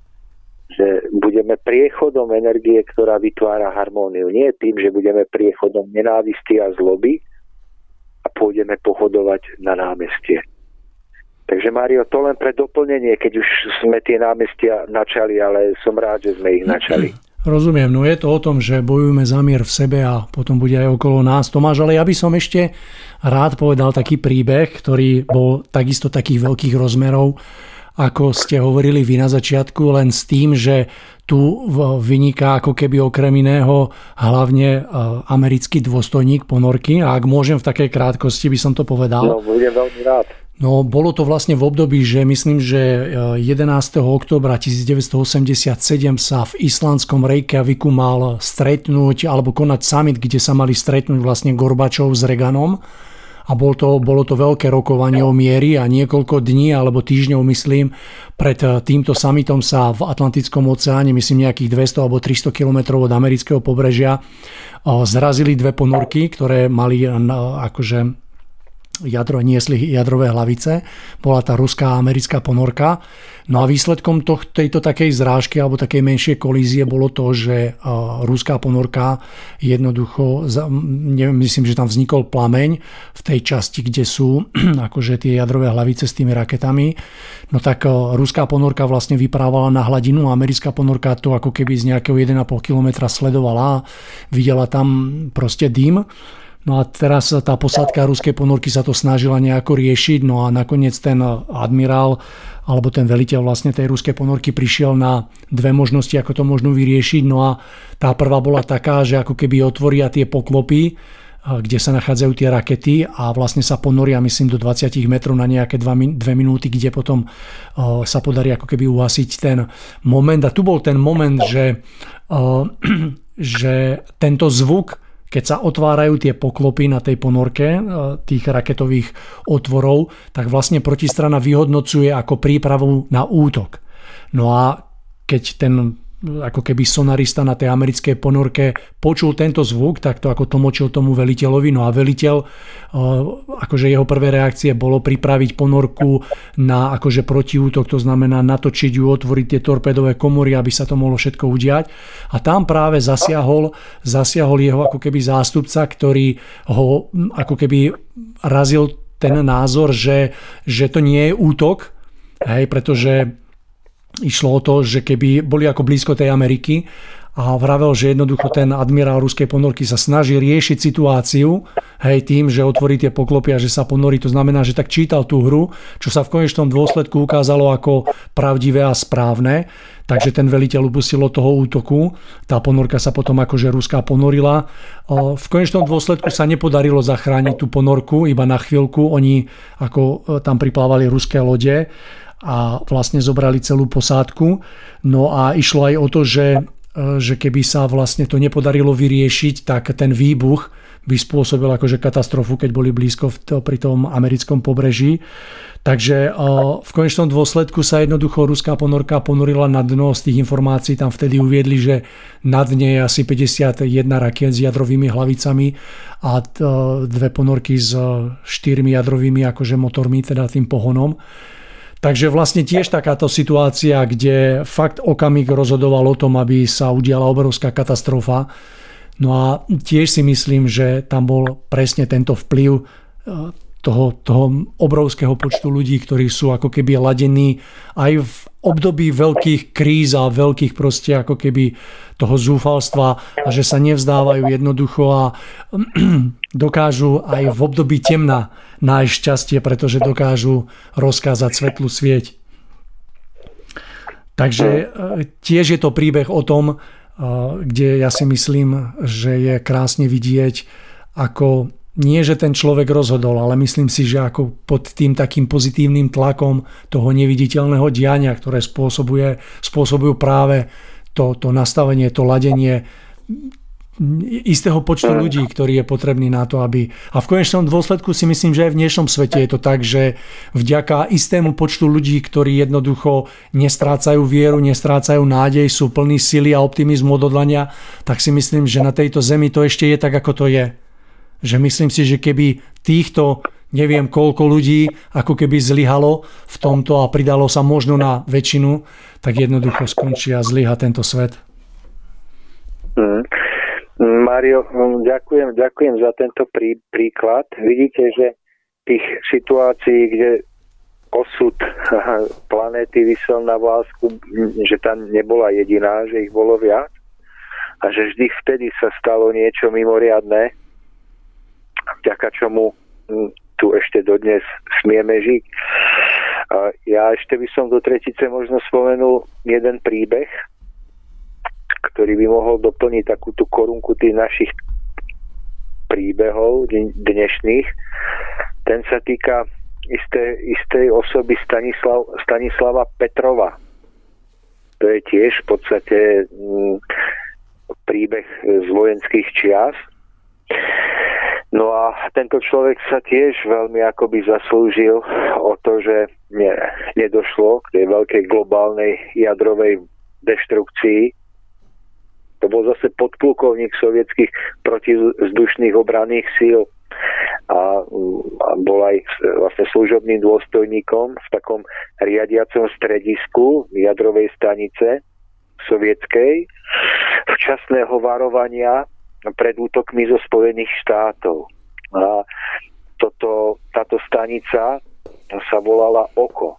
Že budeme priechodom energie, ktorá vytvára harmóniu. Nie tým, že budeme priechodom nenávisti a zloby a pôjdeme pohodovať na námestie. Takže Mário, to len pre doplnenie, keď už sme tie námestia načali, ale som rád, že sme ich načali. Rozumiem, no je to o tom, že bojujeme za mier v sebe a potom bude aj okolo nás. Tomáš, ale ja by som ešte rád povedal taký príbeh, ktorý bol takisto takých veľkých rozmerov, ako ste hovorili vy na začiatku, len s tým, že tu vyniká ako keby okrem iného hlavne americký dôstojník ponorky. A ak môžem v takej krátkosti, by som to povedal. No, budem veľmi rád. No, bolo to vlastne v období, že myslím, že 11. októbra 1987 sa v islandskom Reykjaviku mal stretnúť alebo konať summit, kde sa mali stretnúť vlastne Gorbačov s Reaganom. A bolo to veľké rokovanie o miery a niekoľko dní alebo týždňov, myslím, pred týmto summitom sa v Atlantickom oceáne, myslím nejakých 200 alebo 300 kilometrov od amerického pobrežia, zrazili dve ponorky, ktoré mali akože niesli jadrové hlavice. Bola tá ruská a americká ponorka. No a výsledkom tejto takej zrážky alebo takej menšej kolízie bolo to, že ruská ponorka jednoducho, myslím, že tam vznikol plameň v tej časti, kde sú akože tie jadrové hlavice s tými raketami. No tak ruská ponorka vlastne vyprávala na hladinu a americká ponorka to ako keby z nejakého 1,5 kilometra sledovala a videla tam proste dym. No a teraz tá posádka ruskej ponorky sa to snažila nejako riešiť, no a nakoniec ten admirál alebo ten veliteľ vlastne tej ruskej ponorky prišiel na dve možnosti, ako to možno vyriešiť. No a tá prvá bola taká, že ako keby otvoria tie poklopy, kde sa nachádzajú tie rakety a vlastne sa ponoria, myslím, do 20 metrov na nejaké 2 minúty, kde potom sa podarí ako keby uhasiť ten moment. A tu bol ten moment, že tento zvuk, keď sa otvárajú tie poklopy na tej ponorke tých raketových otvorov, tak vlastne protistrana vyhodnocuje ako prípravu na útok. No a keď ten ako keby sonarista na tej americkej ponorke počul tento zvuk, tak to ako tlmočil tomu veliteľovi. No a veliteľ, akože jeho prvé reakcie bolo pripraviť ponorku na akože protiútok, to znamená natočiť ju, otvoriť tie torpédové komory, aby sa to mohlo všetko udiať. A tam práve zasiahol jeho ako keby zástupca, ktorý ho ako keby razil ten názor, že to nie je útok, hej, pretože išlo o to, že keby boli ako blízko tej Ameriky a vravel, že jednoducho ten admirál ruskej ponorky sa snaží riešiť situáciu, hej, tým, že otvorí tie poklopy a že sa ponorí. To znamená, že tak čítal tú hru, čo sa v konečnom dôsledku ukázalo ako pravdivé a správne. Takže ten veliteľ upustil od toho útoku. Tá ponorka sa potom akože ruská ponorila. V konečnom dôsledku sa nepodarilo zachrániť tú ponorku, iba na chvíľku. Oni ako tam priplávali ruské lode a vlastne zobrali celú posádku. No a išlo aj o to, že keby sa vlastne to nepodarilo vyriešiť, tak ten výbuch by spôsobil akože katastrofu, keď boli blízko pri tom americkom pobreží. Takže v konečnom dôsledku sa jednoducho ruská ponorka ponorila na dno. Z tých informácií tam vtedy uviedli, že na dne je asi 51 rakiet s jadrovými hlavicami a dve ponorky s 4 jadrovými akože motormi, teda tým pohonom. Takže vlastne tiež takáto situácia, kde fakt okamih rozhodoval o tom, aby sa udiala obrovská katastrofa. No a tiež si myslím, že tam bol presne tento vplyv toho obrovského počtu ľudí, ktorí sú ako keby ladení aj v období veľkých kríz a veľkých proste ako keby toho zúfalstva a že sa nevzdávajú jednoducho a dokážu aj v období temna nájsť šťastie, pretože dokážu rozkázať svetlú svieť. Takže tiež je to príbeh o tom, kde ja si myslím, že je krásne vidieť, ako nie, že ten človek rozhodol, ale myslím si, že ako pod tým takým pozitívnym tlakom toho neviditeľného diania, ktoré spôsobujú práve to nastavenie, to ladenie istého počtu ľudí, ktorý je potrebný na to, aby... A v konečnom dôsledku si myslím, že aj v dnešnom svete je to tak, že vďaka istému počtu ľudí, ktorí jednoducho nestrácajú vieru, nestrácajú nádej, sú plní sily a optimizmu, odhodlania, tak si myslím, že na tejto zemi to ešte je tak, ako to je. Že myslím si, že keby týchto neviem koľko ľudí ako keby zlyhalo v tomto a pridalo sa možno na väčšinu, tak jednoducho skončí a zlyha tento svet. Mário, ďakujem za tento príklad. Vidíte, že tých situácií, kde osud planéty visel na vlásku, že tam nebola jediná, že ich bolo viac a že vždy vtedy sa stalo niečo mimoriadne, vďaka čomu tu ešte dodnes smieme žiť. Ja ešte by som do tretice možno spomenul jeden príbeh, ktorý by mohol doplniť takú tú korunku tých našich príbehov dnešných. Ten sa týka istej osoby Stanislava Petrova. To je tiež v podstate príbeh z vojenských čias. No a tento človek sa tiež veľmi akoby zaslúžil o to, že nedošlo k tej veľkej globálnej jadrovej deštrukcii. To bol zase podplukovník sovietských protizdušných obranných síl a bol aj vlastne služobným dôstojníkom v takom riadiacom stredisku jadrovej stanice sovietskej včasného varovania pred útokmi zo Spojených štátov. A táto stanica sa volala OKO,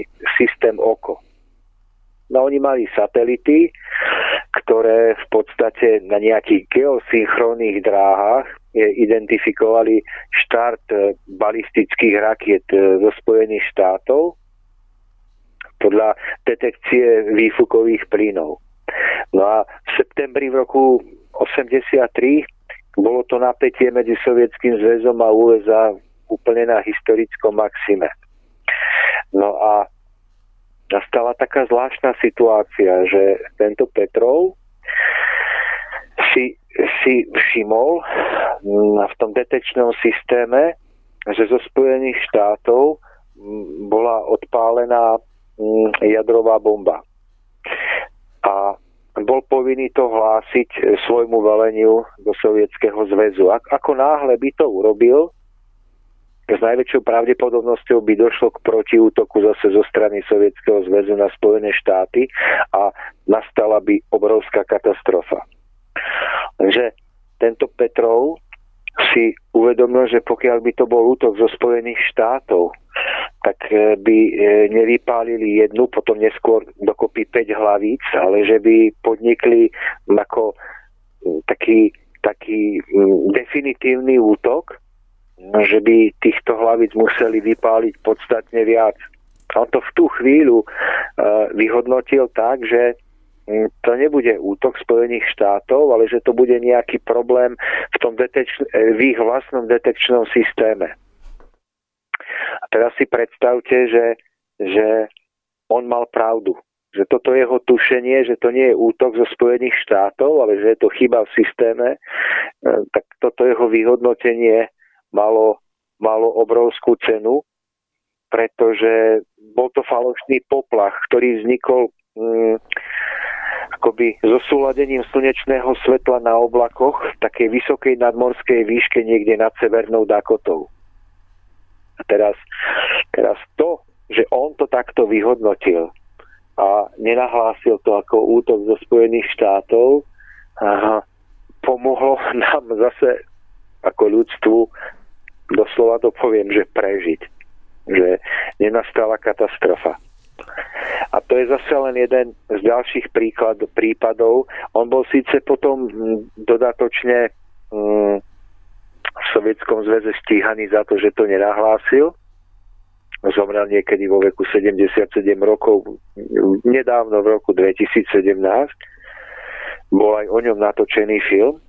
systém OKO. No oni mali satelity, ktoré v podstate podstate na nejakých geosynchronných dráhach identifikovali štart balistických rakiet zo Spojených štátov podľa detekcie výfukových plynov. No a v septembri v roku 1983 bolo to napätie medzi Sovietským zväzom a USA úplne na historickom maxime. No a nastala taká zvláštna situácia, že tento Petrov si všimol v tom detekčnom systéme, že zo Spojených štátov bola odpálená jadrová bomba. A bol povinný to hlásiť svojmu veleniu do Sovietskeho zväzu. Ako náhle by to urobil, s najväčšou pravdepodobnosťou by došlo k protiútoku zase zo strany Sovietskeho zväzu na Spojené štáty a nastala by obrovská katastrofa. Takže tento Petrov si uvedomil, že pokiaľ by to bol útok zo Spojených štátov, tak by nevypálili jednu, potom neskôr dokopy 5 hlavíc, ale že by podnikli ako taký definitívny útok, že by týchto hlavíc museli vypáliť podstatne viac. On to v tú chvíľu vyhodnotil tak, že to nebude útok Spojených štátov, ale že to bude nejaký problém v ich vlastnom detekčnom systéme. A teraz si predstavte, že on mal pravdu. Že toto jeho tušenie, že to nie je útok zo Spojených štátov, ale že je to chyba v systéme, tak toto jeho vyhodnotenie malo obrovskú cenu, pretože bol to falošný poplach, ktorý vznikol akoby zosúladením slnečného svetla na oblakoch v takej vysokej nadmorskej výške niekde nad Severnou Dakotou. A teraz to, že on to takto vyhodnotil a nenahlásil to ako útok zo Spojených štátov, pomohlo nám zase ako ľudstvu, doslova to poviem, že prežiť. Že nenastala katastrofa. A to je zase len jeden z ďalších prípadov. On bol síce potom dodatočne v Sovietskom zväze stíhaný za to, že to nenahlásil. Zomrel niekedy vo veku 77 rokov, nedávno v roku 2017. Bol aj o ňom natočený film.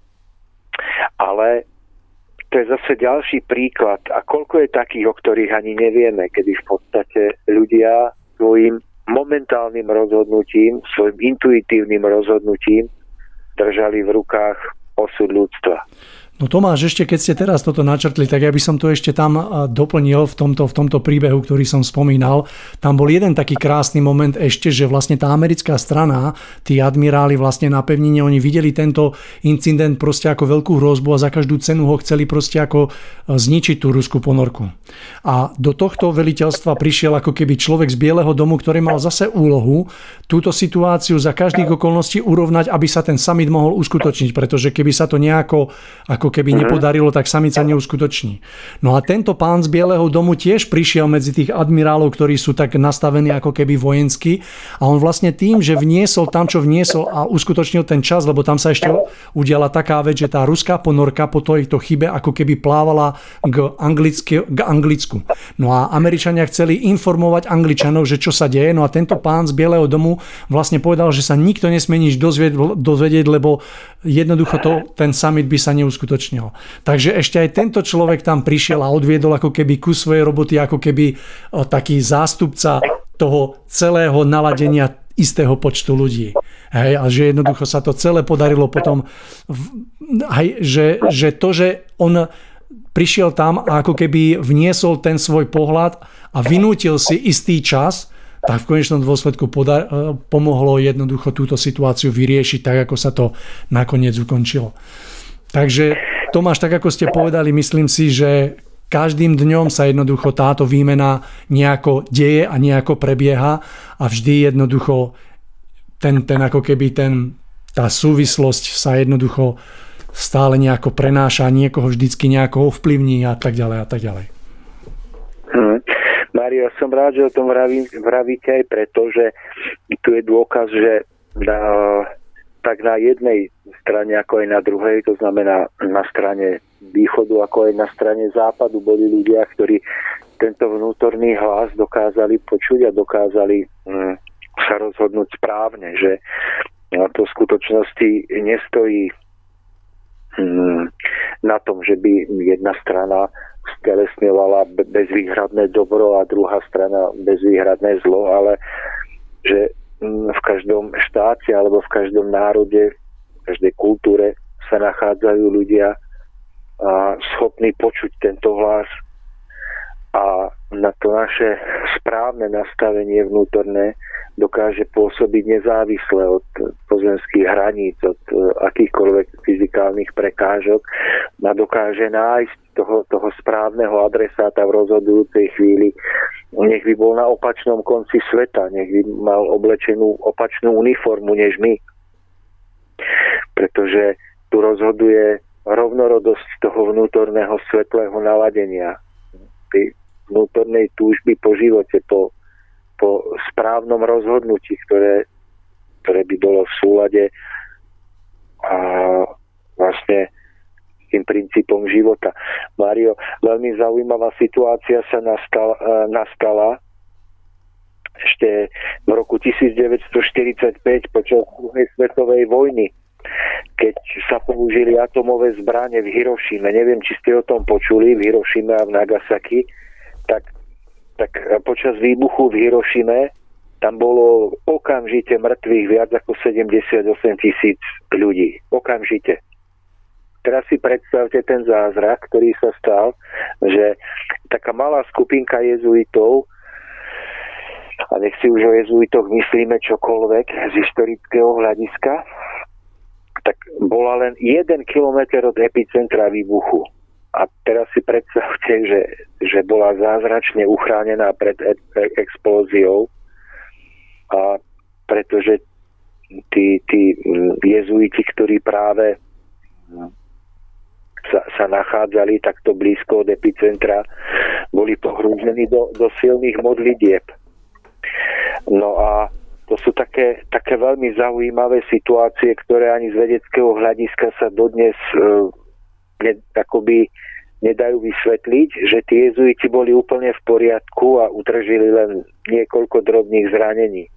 Ale to je zase ďalší príklad. A koľko je takých, o ktorých ani nevieme, kedy v podstate ľudia svojim momentálnym rozhodnutím, svojim intuitívnym rozhodnutím držali v rukách osud ľudstva. No Tomáš, ešte keď ste teraz toto načrtli, tak ja by som to ešte tam doplnil v tomto príbehu, ktorý som spomínal. Tam bol jeden taký krásny moment ešte, že vlastne tá americká strana, tí admiráli vlastne na pevnine, oni videli tento incident proste ako veľkú hrozbu a za každú cenu ho chceli proste ako zničiť tú ruskú ponorku. A do tohto veliteľstva prišiel ako keby človek z Bieleho domu, ktorý mal zase úlohu túto situáciu za každých okolností urovnať, aby sa ten summit mohol uskutočniť, pretože keby sa to nejako ako keby nepodarilo, tak summit sa neuskutoční. No a tento pán z Bieleho domu tiež prišiel medzi tých admirálov, ktorí sú tak nastavení ako keby vojensky a on vlastne tým, že vniesol tam, čo vniesol a uskutočnil ten čas, lebo tam sa ešte udiala taká vec, že tá ruská ponorka po tejto chybe ako keby plávala k Anglicku. No a Američania chceli informovať Angličanov, že čo sa deje, no a tento pán z Bieleho domu vlastne povedal, že sa nikto nesmie nič dozvedieť, lebo jednoducho ten summit by sa neuskutočnil. Takže ešte aj tento človek tam prišiel a odviedol ako keby kus svojej roboty, ako keby taký zástupca toho celého naladenia istého počtu ľudí. Hej, a že jednoducho sa to celé podarilo potom, že to, že on prišiel tam a ako keby vniesol ten svoj pohľad a vynútil si istý čas, tak v konečnom dôsledku pomohlo jednoducho túto situáciu vyriešiť tak, ako sa to nakoniec ukončilo. Takže Tomáš, tak ako ste povedali, myslím si, že každým dňom sa jednoducho táto výmena nejako deje a nejako prebieha a vždy jednoducho ten ako keby tá súvislosť sa jednoducho stále nejako prenáša, niekoho vždycky nejako ovplyvní a tak ďalej a tak ďalej. Mário, som rád, že o tom vravíte aj preto, že tu je dôkaz, že tak na jednej strane ako aj na druhej, to znamená na strane východu ako aj na strane západu boli ľudia, ktorí tento vnútorný hlas dokázali počuť a dokázali sa rozhodnúť správne, že to v skutočnosti nestojí na tom, že by jedna strana stelesňovala bezvýhradné dobro a druhá strana bezvýhradné zlo, ale že v každom štáte alebo v každom národe, v každej kultúre sa nachádzajú ľudia schopní počuť tento hlas a na to naše správne nastavenie vnútorné dokáže pôsobiť nezávisle od pozemských hraníc, od akýchkoľvek fyzikálnych prekážok a dokáže nájsť toho správneho adresáta v rozhodujúcej chvíli. Nech by bol na opačnom konci sveta, nech by mal oblečenú opačnú uniformu než my. Pretože tu rozhoduje rovnorodosť toho vnútorného svetlého naladenia. Tej vnútornej túžby po živote, po správnom rozhodnutí, ktoré by bolo v súlade a vlastne tým princípom života. Mário, veľmi zaujímavá situácia sa nastala ešte v roku 1945 počas druhej svetovej vojny, keď sa použili atomové zbrane v Hirošime. Neviem, či ste o tom počuli, v Hirošime a v Nagasaki. Tak počas výbuchu v Hirošime tam bolo okamžite mŕtvych viac ako 78 000 ľudí. Okamžite. Teraz si predstavte ten zázrak, ktorý sa stal, že taká malá skupinka jezuitov, a nech si už o jezuitoch myslíme čokoľvek z historického hľadiska, tak bola len 1 kilometer od epicentra výbuchu. A teraz si predstavte, že bola zázračne uchránená pred explóziou, a pretože tí jezuiti, ktorí práve sa nachádzali takto blízko od epicentra, boli pohrúžení do silných modlitieb. No a to sú také veľmi zaujímavé situácie, ktoré ani z vedeckého hľadiska sa dodnes akoby nedajú vysvetliť, že tí jezuiti boli úplne v poriadku a utržili len niekoľko drobných zranení.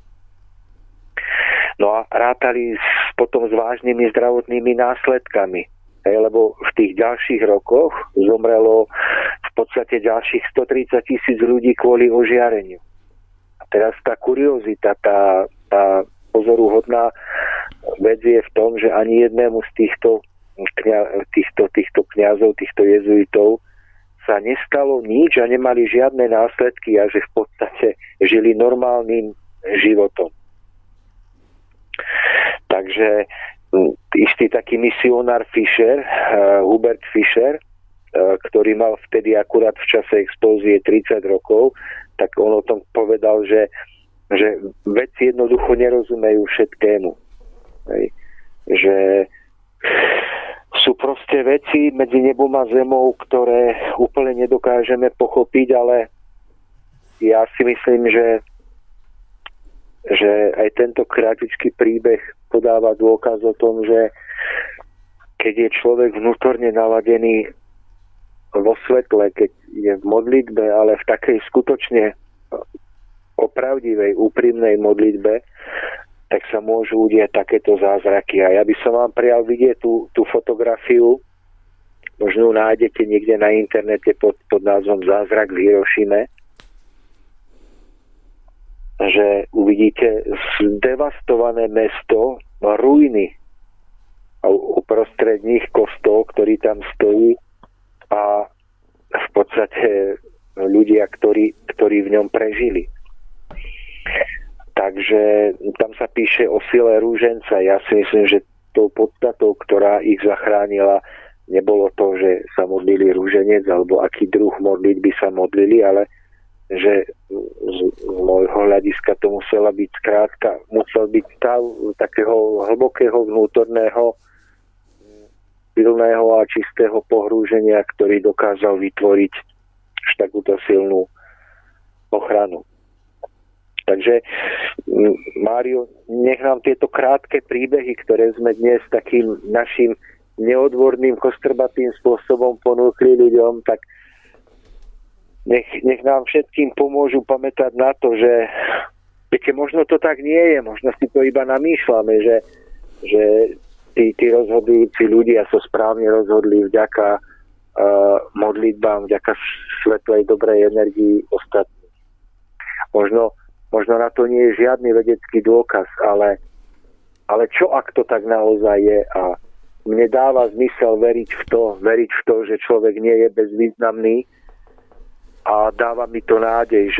No a rátali potom s vážnymi zdravotnými následkami. Lebo v tých ďalších rokoch zomrelo v podstate ďalších 130 000 ľudí kvôli ožiareniu. A teraz tá kuriozita, tá pozoruhodná vec je v tom, že ani jednému z týchto kňazov, týchto jezuitov sa nestalo nič a nemali žiadne následky a že v podstate žili normálnym životom. Takže istý taký misionár Fischer, Hubert Fischer, ktorý mal vtedy akurát v čase explózie 30 rokov, tak on o tom povedal, že vedci jednoducho nerozumejú všetkému. Že sú proste veci medzi nebom a zemou, ktoré úplne nedokážeme pochopiť, ale ja si myslím, že aj tento krátičký príbeh podáva dôkaz o tom, že keď je človek vnútorne naladený vo svetle, keď je v modlitbe, ale v takej skutočne opravdivej, úprimnej modlitbe, tak sa môžu udieť takéto zázraky. A ja by som vám prijal vidieť tú fotografiu, možno nájdete niekde na internete pod názvom Zázrak v Hirošime, že uvidíte zdevastované mesto, ruiny a uprostred nich kostol, ktorý tam stojí a v podstate ľudia, ktorí v ňom prežili. Takže tam sa píše o sile rúženca. Ja si myslím, že tou podstatou, ktorá ich zachránila, nebolo to, že sa modlili rúženec alebo aký druh modlitby sa modlili, ale že z môjho hľadiska to musel byť stav takého hlbokého vnútorného silného a čistého pohrúženia, ktorý dokázal vytvoriť až takúto silnú ochranu. Takže Mário, nech nám tieto krátke príbehy, ktoré sme dnes takým našim neodborným, kostrbatým spôsobom ponúkli ľuďom, tak nech nám všetkým pomôžu pamätať na to, že viete, možno to tak nie je, možno si to iba namýšľame, že tí rozhodujúci ľudia sa správne rozhodli vďaka modlitbám, vďaka svetlej dobrej energii ostatných. Možno na to nie je žiadny vedecký dôkaz, ale čo ak to tak naozaj je? A mne dáva zmysel veriť v to, že človek nie je bezvýznamný, a dáva mi to nádej,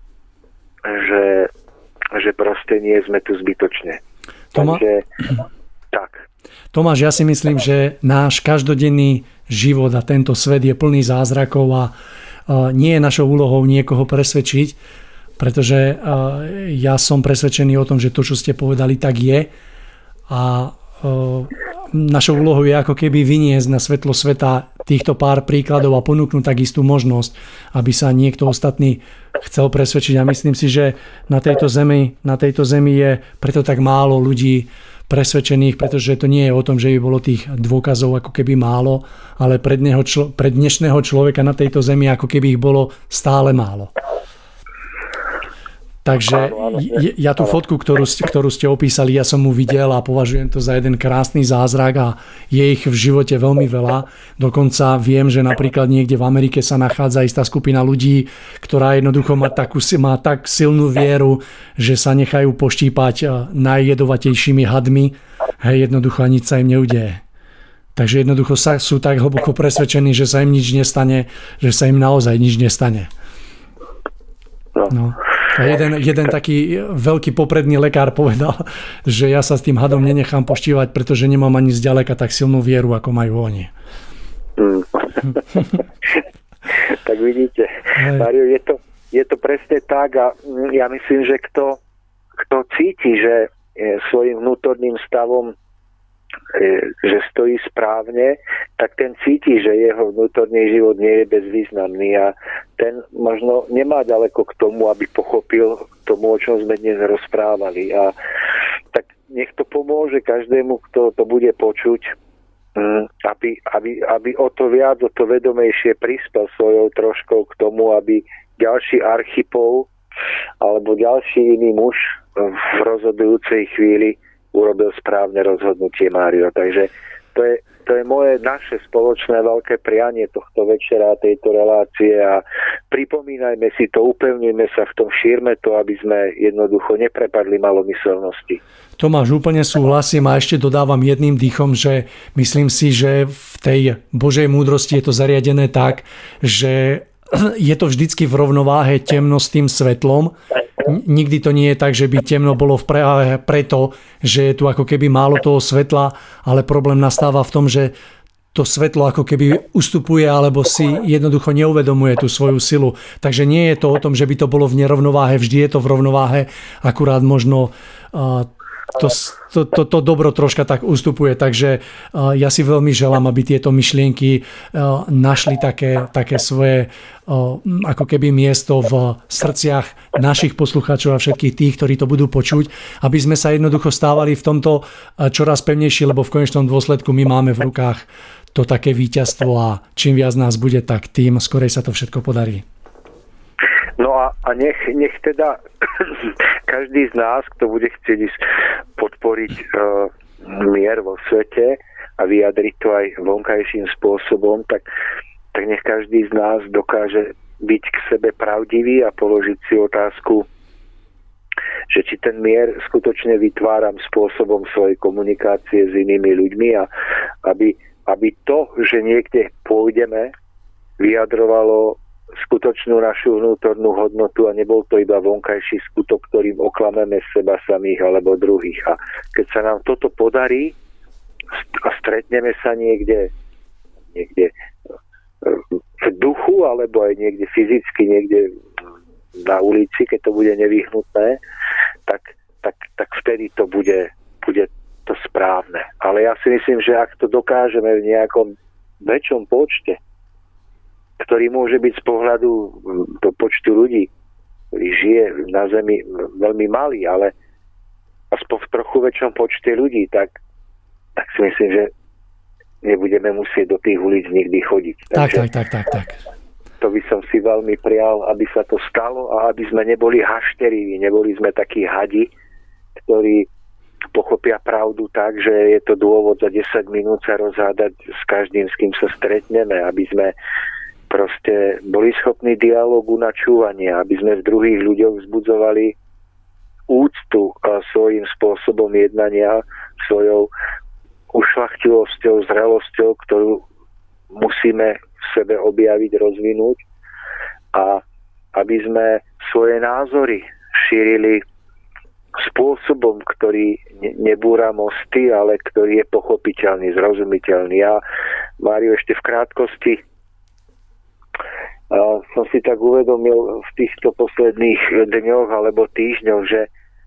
že proste nie sme tu zbytočne. Takže tak. Tomáš, ja si myslím, že náš každodenný život a tento svet je plný zázrakov a nie je našou úlohou niekoho presvedčiť, pretože ja som presvedčený o tom, že to, čo ste povedali, tak je a našou úlohou je ako keby vyniesť na svetlo sveta týchto pár príkladov a ponúknuť takistú možnosť, aby sa niekto ostatný chcel presvedčiť. A myslím si, že na tejto zemi je preto tak málo ľudí presvedčených, pretože to nie je o tom, že by bolo tých dôkazov ako keby málo, ale pre dnešného človeka na tejto zemi ako keby ich bolo stále málo. Takže ja tú fotku, ktorú ste opísali, ja som mu videl a považujem to za jeden krásny zázrak a je ich v živote veľmi veľa. Dokonca viem, že napríklad niekde v Amerike sa nachádza istá skupina ľudí, ktorá jednoducho má tak silnú vieru, že sa nechajú poštípať najjedovatejšími hadmi. Jednoducho nič sa im neudeje. Takže jednoducho sú tak hlboko presvedčení, že sa im nič nestane, že sa im naozaj nič nestane. No. A jeden taký veľký popredný lekár povedal, že ja sa s tým hadom nenechám poštívať, pretože nemám ani zďaleka tak silnú vieru, ako majú oni. Tak vidíte, Mário, je to presne tak a ja myslím, že kto cíti, že svojim vnútorným stavom že stojí správne, tak ten cíti, že jeho vnútorný život nie je bezvýznamný a ten možno nemá ďaleko k tomu, aby pochopil tomu, o čom sme dnes rozprávali. A tak nech to pomôže každému, kto to bude počuť, aby o to viac, o to vedomejšie prispel svojou troškou k tomu, aby ďalší Archipov alebo ďalší iný muž v rozhodujúcej chvíli urobil správne rozhodnutie, Mário. Takže to je naše spoločné veľké prianie tohto večera, tejto relácie a pripomínajme si to, upevníme sa v tom, šírme to, aby sme jednoducho neprepadli malomyselnosti. Tomáš, úplne súhlasím a ešte dodávam jedným dýchom, že myslím si, že v tej Božej múdrosti je to zariadené tak, že je to vždycky v rovnováhe temno s tým svetlom. Nikdy to nie je tak, že by temno bolo práve preto, že je tu ako keby málo toho svetla, ale problém nastáva v tom, že to svetlo ako keby ustupuje alebo si jednoducho neuvedomuje tú svoju silu. Takže nie je to o tom, že by to bolo v nerovnováhe, vždy je to v rovnováhe, akurát možno to dobro troška tak ustupuje. Takže ja si veľmi želám, aby tieto myšlienky našli také svoje ako keby miesto v srdciach našich poslucháčov a všetkých tých, ktorí to budú počuť, aby sme sa jednoducho stávali v tomto čoraz pevnejší, lebo v konečnom dôsledku my máme v rukách to také víťazstvo a čím viac nás bude, tak tým skorej sa to všetko podarí. No a nech teda každý z nás, kto bude chcieť podporiť mier vo svete a vyjadriť to aj vonkajším spôsobom, tak nech každý z nás dokáže byť k sebe pravdivý a položiť si otázku, že či ten mier skutočne vytváram spôsobom svojej komunikácie s inými ľuďmi a aby to, že niekde pôjdeme, vyjadrovalo skutočnú našu vnútornú hodnotu a nebol to iba vonkajší skutok, ktorým oklameme seba samých alebo druhých. A keď sa nám toto podarí a stretneme sa niekde v duchu alebo aj niekde fyzicky, niekde na ulici, keď to bude nevyhnutné, tak vtedy to bude to správne. Ale ja si myslím, že ak to dokážeme v nejakom väčšom počte, ktorý môže byť z pohľadu do počtu ľudí ktorý žije na Zemi veľmi malý, ale aspoň v trochu väčšom počte ľudí, tak si myslím, že nebudeme musieť do tých ulic nikdy chodiť. Tak. To by som si veľmi prial, aby sa to stalo a aby sme neboli hašteriví, neboli sme takí hadi, ktorí pochopia pravdu tak, že je to dôvod za 10 minút sa rozhádať s každým, s kým sa stretneme, aby sme proste boli schopní dialógu, načúvania, aby sme v druhých ľuďoch vzbudzovali úctu svojím spôsobom jednania, svojou ušľachtilosťou, zrelosťou, ktorú musíme v sebe objaviť, rozvinúť, a aby sme svoje názory šírili spôsobom, ktorý nebúra mosty, ale ktorý je pochopiteľný, zrozumiteľný. Ja, Mário, ešte v krátkosti som si tak uvedomil v týchto posledných dňoch alebo týždňoch, že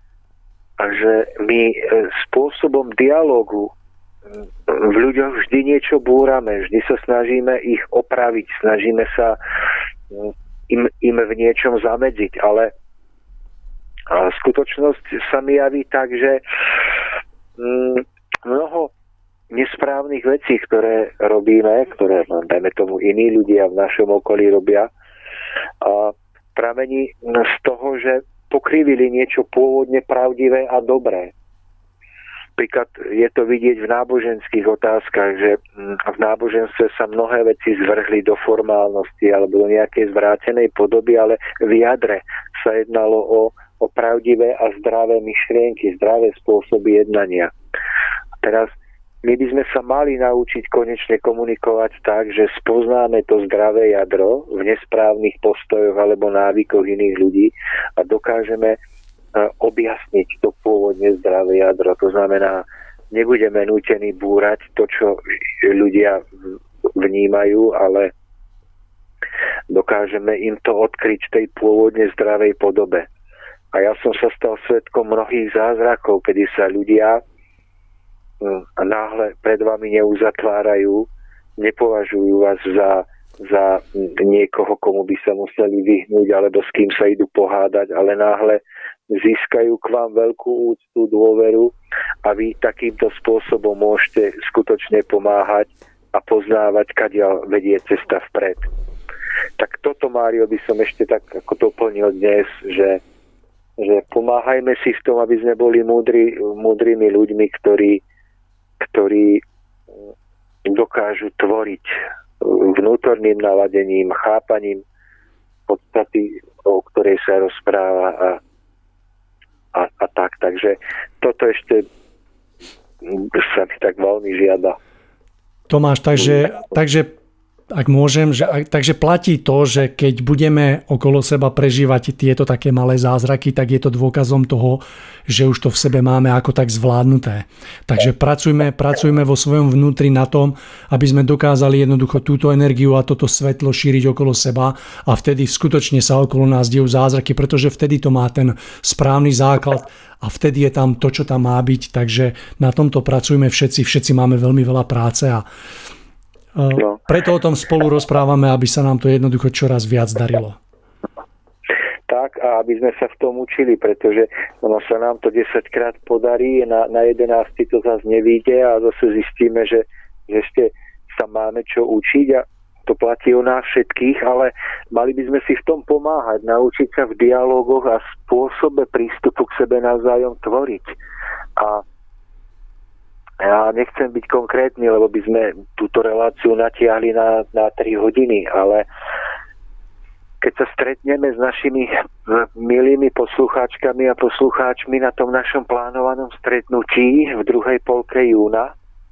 my spôsobom dialógu v ľuďoch vždy niečo búrame, vždy sa snažíme ich opraviť, snažíme sa im v niečom zamedziť, ale skutočnosť sa mi javí tak, že mnoho nesprávnych vecí, ktoré robíme, ktoré, dajme tomu, iní ľudia v našom okolí robia, pramení z toho, že pokrivili niečo pôvodne pravdivé a dobré. Príklad je to vidieť v náboženských otázkach, že v náboženstve sa mnohé veci zvrhli do formálnosti alebo do nejakej zvrátenej podoby, ale v jadre sa jednalo o pravdivé a zdravé myšlienky, zdravé spôsoby jednania. Teraz my by sme sa mali naučiť konečne komunikovať tak, že spoznáme to zdravé jadro v nesprávnych postojoch alebo návykoch iných ľudí a dokážeme objasniť to pôvodne zdravé jadro. To znamená, nebudeme nútení búrať to, čo ľudia vnímajú, ale dokážeme im to odkryť v tej pôvodne zdravej podobe. A ja som sa stal svedkom mnohých zázrakov, kedy sa ľudia náhle pred vami neuzatvárajú, nepovažujú vás za niekoho, komu by sa museli vyhnúť, alebo s kým sa idú pohádať, ale náhle získajú k vám veľkú úctu, dôveru a vy takýmto spôsobom môžete skutočne pomáhať a poznávať, kadiaľ vedie cesta vpred. Tak toto, Mário, by som ešte tak ako doplnil dnes, že pomáhajme si v tom, aby sme boli múdrymi ľuďmi, ktorí dokážu tvoriť vnútorným naladením, chápaním podstaty, o ktorej sa rozpráva a tak. Takže toto ešte sa mi tak veľmi žiada. Tomáš, takže ak môžem, takže platí to, že keď budeme okolo seba prežívať tieto také malé zázraky, tak je to dôkazom toho, že už to v sebe máme ako tak zvládnuté. Takže pracujme vo svojom vnútri na tom, aby sme dokázali jednoducho túto energiu a toto svetlo šíriť okolo seba a vtedy skutočne sa okolo nás dejú zázraky, pretože vtedy to má ten správny základ a vtedy je tam to, čo tam má byť. Takže na tomto pracujme všetci máme veľmi veľa práce a preto o tom spolu rozprávame, aby sa nám to jednoducho čoraz viac darilo. Tak, a aby sme sa v tom učili, pretože ono sa nám to 10 krát podarí, na 11 to zase nevíde a zase zistíme, že ešte sa máme čo učiť a to platí o nás všetkých, ale mali by sme si v tom pomáhať, naučiť sa v dialógoch a spôsobe prístupu k sebe navzájom tvoriť. A ja nechcem byť konkrétny, lebo by sme túto reláciu natiahli na 3 hodiny, ale keď sa stretneme s našimi milými poslucháčkami a poslucháčmi na tom našom plánovanom stretnutí v druhej polke júna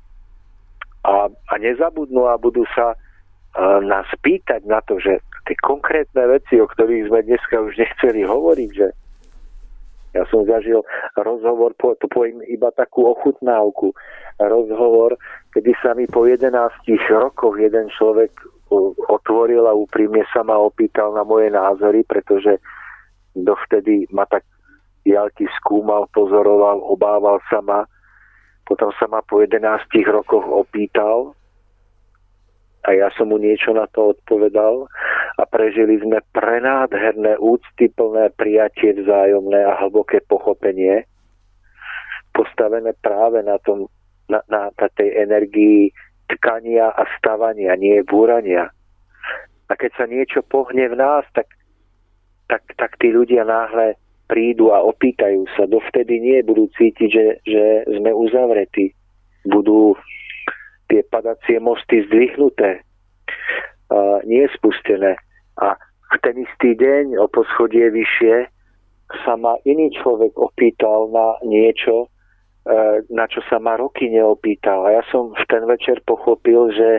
a nezabudnú a budú sa nás pýtať na to, že tie konkrétne veci, o ktorých sme dneska už nechceli hovoriť, že ja som zažil rozhovor, to poviem iba takú ochutnávku, rozhovor, kedy sa mi po 11 rokoch jeden človek otvoril a úprimne sa ma opýtal na moje názory, pretože dovtedy ma tak diaľky skúmal, pozoroval, obával sa ma. Potom sa ma po 11 rokoch opýtal a ja som mu niečo na to odpovedal. A a prežili sme prenádherné, úctyplné prijatie vzájomné a hlboké pochopenie, postavené práve na tej energii tkania a stavania, nie búrania. A keď sa niečo pohne v nás, tak tí ľudia náhle prídu a opýtajú sa. Dovtedy nie budú cítiť, že sme uzavretí. Budú tie padacie mosty zdvihnuté, nie spustené. A v ten istý deň o poschodie vyššie sa ma iný človek opýtal na niečo, na čo sa ma roky neopýtal. A ja som v ten večer pochopil, že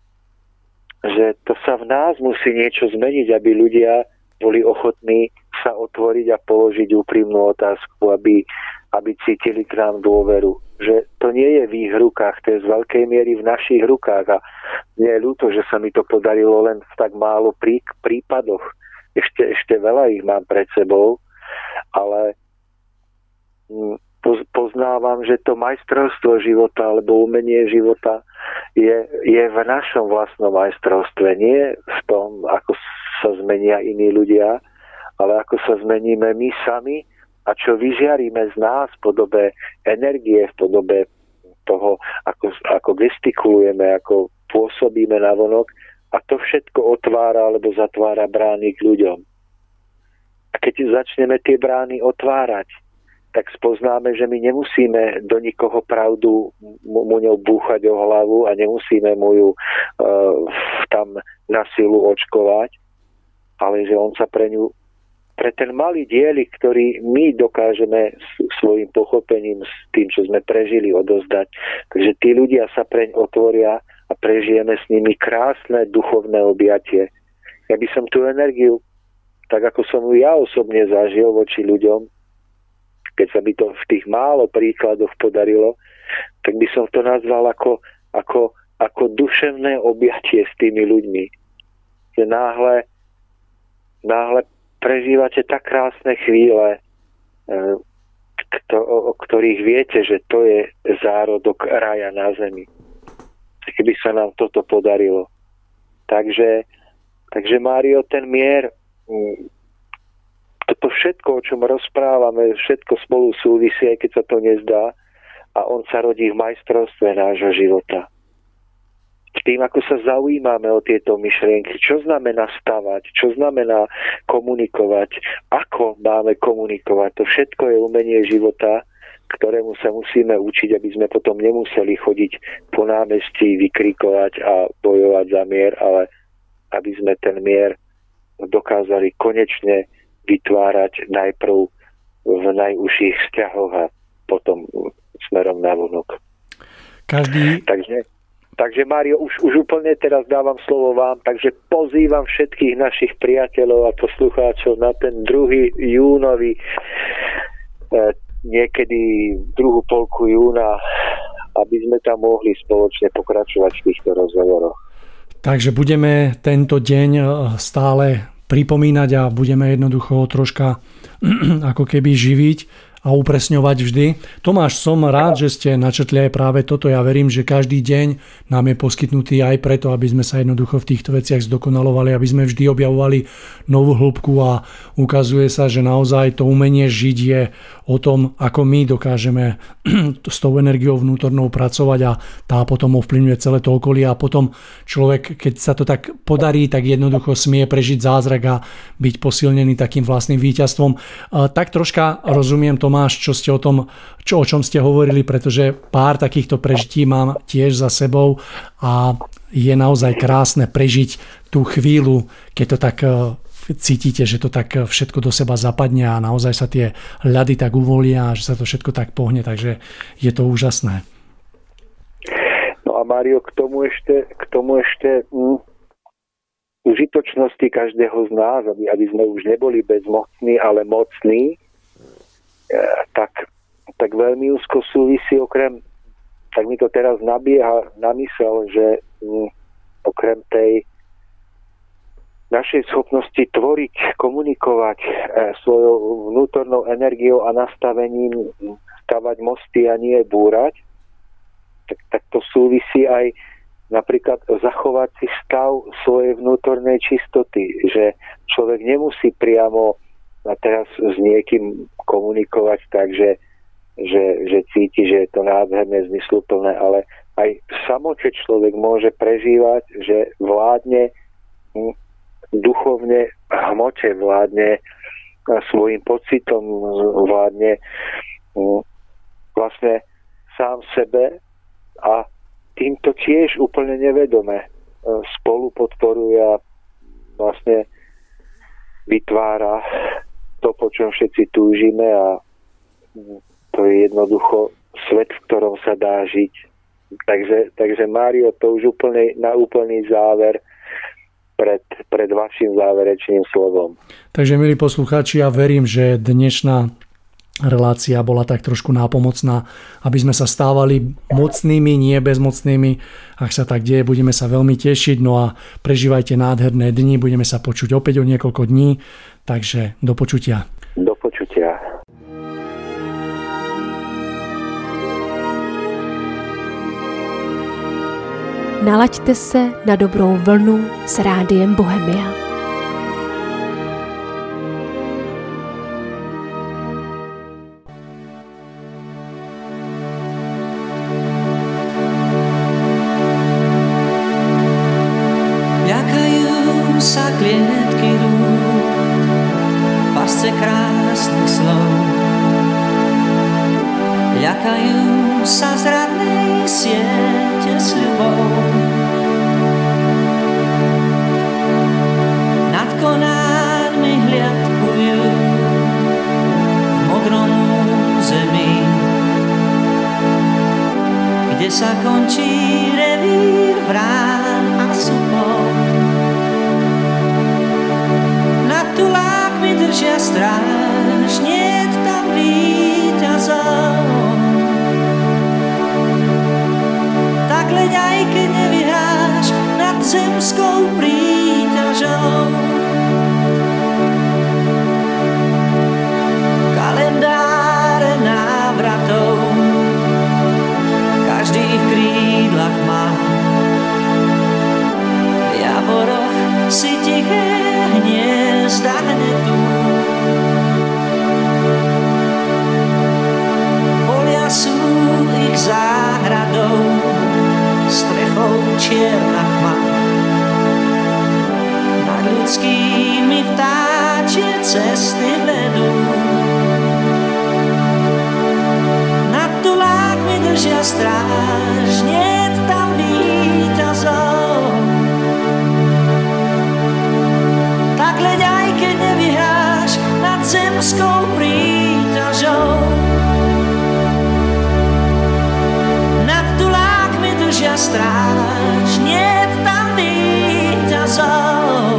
to sa v nás musí niečo zmeniť, aby ľudia boli ochotní sa otvoriť a položiť úprimnú otázku, aby cítili k nám dôveru. Že to nie je v ich rukách, to je z veľkej miery v našich rukách. A mne je ľúto, že sa mi to podarilo len v tak málo prípadoch. Ešte veľa ich mám pred sebou, ale poznávam, že to majstrovstvo života alebo umenie života je v našom vlastnom majstrovstve. Nie v tom, ako sa zmenia iní ľudia, ale ako sa zmeníme my sami a čo vyžiaríme z nás v podobe energie, v podobe toho, ako gestikulujeme, ako pôsobíme navonok, a to všetko otvára alebo zatvára brány k ľuďom. A keď začneme tie brány otvárať, tak spoznáme, že my nemusíme do nikoho pravdu mu ňou búchať o hlavu a nemusíme mu ju tam na silu očkovať, ale že on sa pre ten malý dielik, ktorý my dokážeme svojim pochopením s tým, čo sme prežili, odozdať. Takže tí ľudia sa preň otvoria a prežijeme s nimi krásne duchovné objatie. Ja by som tú energiu, tak ako som ju ja osobne zažil voči ľuďom, keď sa by to v tých málo príkladoch podarilo, tak by som to nazval ako duševné objatie s tými ľuďmi. Že náhle prežívate tak krásne chvíle, o ktorých viete, že to je zárodok raja na zemi. Keby sa nám toto podarilo. Takže Mário, ten mier, toto všetko, o čom rozprávame, všetko spolu súvisí, aj keď sa to nezdá, a on sa rodí v majstrovstve nášho života. V tým, ako sa zaujímame o tieto myšlienky, čo znamená stavať, čo znamená komunikovať, ako máme komunikovať, to všetko je umenie života, ktorému sa musíme učiť, aby sme potom nemuseli chodiť po námestí, vykrikovať a bojovať za mier, ale aby sme ten mier dokázali konečne vytvárať najprv v najúžších vzťahoch a potom smerom na vonok. Takže Mário, už úplne teraz dávam slovo vám, takže pozývam všetkých našich priateľov a poslucháčov na ten 2. júnový, niekedy druhú polku júna, aby sme tam mohli spoločne pokračovať v týchto rozhovoroch. Takže budeme tento deň stále pripomínať a budeme jednoducho troška ako keby živiť a upresňovať vždy. Tomáš, som rád, že ste načetli aj práve toto. Ja verím, že každý deň nám je poskytnutý aj preto, aby sme sa jednoducho v týchto veciach zdokonalovali, aby sme vždy objavovali novú hĺbku, a ukazuje sa, že naozaj to umenie žiť je o tom, ako my dokážeme s tou energiou vnútornou pracovať, a tá potom ovplyvňuje celé to okolie, a potom človek, keď sa to tak podarí, tak jednoducho smie prežiť zázrak a byť posilnený takým vlastným víťazstvom. Tak troška rozumiem, Tomáš, čo ste o čom ste hovorili, pretože pár takýchto prežití mám tiež za sebou a je naozaj krásne prežiť tú chvíľu, keď to tak cítite, že to tak všetko do seba zapadne a naozaj sa tie ľady tak uvolia, že sa to všetko tak pohne, takže je to úžasné. No a Mário, k tomu ešte užitočnosti každého z nás, aby sme už neboli bezmocní, ale mocní, tak veľmi úzko súvisí tak mi to teraz nabieha na mysel, že okrem tej našej schopnosti tvoriť, komunikovať svojou vnútornou energiou a nastavením, stavať mosty a nie búrať, tak to súvisí aj napríklad zachovať si stav svojej vnútornej čistoty, že človek nemusí priamo a teraz s niekým komunikovať tak, že cíti, že je to nádherné, zmysluplné, ale aj v samote človek môže prežívať, že vládne duchovne hmote, vládne svojim pocitom, vládne vlastne sám sebe a týmto tiež úplne nevedome spolu podporuje a vlastne vytvára to, po čom všetci túžime a to je jednoducho svet, v ktorom sa dá žiť. Takže Mário, to už na úplný záver pred vašim záverečným slovom. Takže, milí poslucháči, ja verím, že dnešná relácia bola tak trošku nápomocná, aby sme sa stávali mocnými, nie bezmocnými. Ak sa tak deje, budeme sa veľmi tešiť. No a prežívajte nádherné dni, budeme sa počuť opäť o niekoľko dní. Takže do počutia. Do počutia. Nalaďte se na dobrou vlnu s Rádiem Bohemia. Sa klietky rúk, pasce krásnych slov. Ľakajú sa zradnej siete sľubov. Nad konármi hliadkujú v modrom území, kde sa končí revír vrán a supov. Tulákmi držia stráž, niet tam víťazov. Tak leď aj keď nevyhráš nad zemskou príťažou. Kalendáre návratov každý v krídlach má. V javoroch si tiché hniezda hnetú. Polia sú ich záhradou, strechou čierna tma. Nad ľudskými vtáčie cesty vedú. Nad tulákmi držia stráž, niet tam víťazov. Leď aj keď nevyhráš nad zemskou príťažou. Nad tulákmi držia stráž, niet tam víťazov.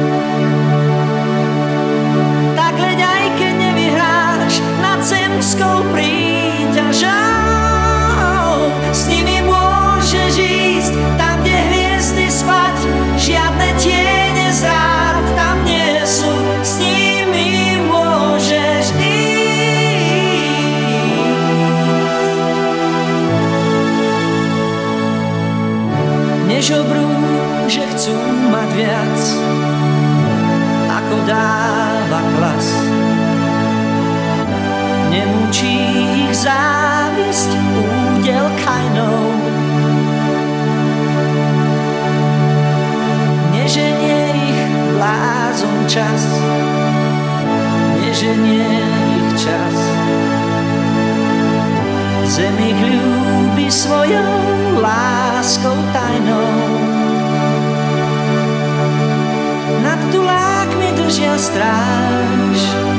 Tak leď aj keď nevyhráš nad zemskou príťažou. S nimi môžeš ísť tam, kde hviezdy spať, žiadne tiene zrád tam nie sú, s nimi môžeš ísť. Nežobrú, že chcú mať viac, ako dáva klas. Nemúči ich závisť údel Kainov. Neženie ich blázon čas, neženie ich čas. Zem ich ľúbi svojou láskou tajnou. Nad tulákmi držia stráž,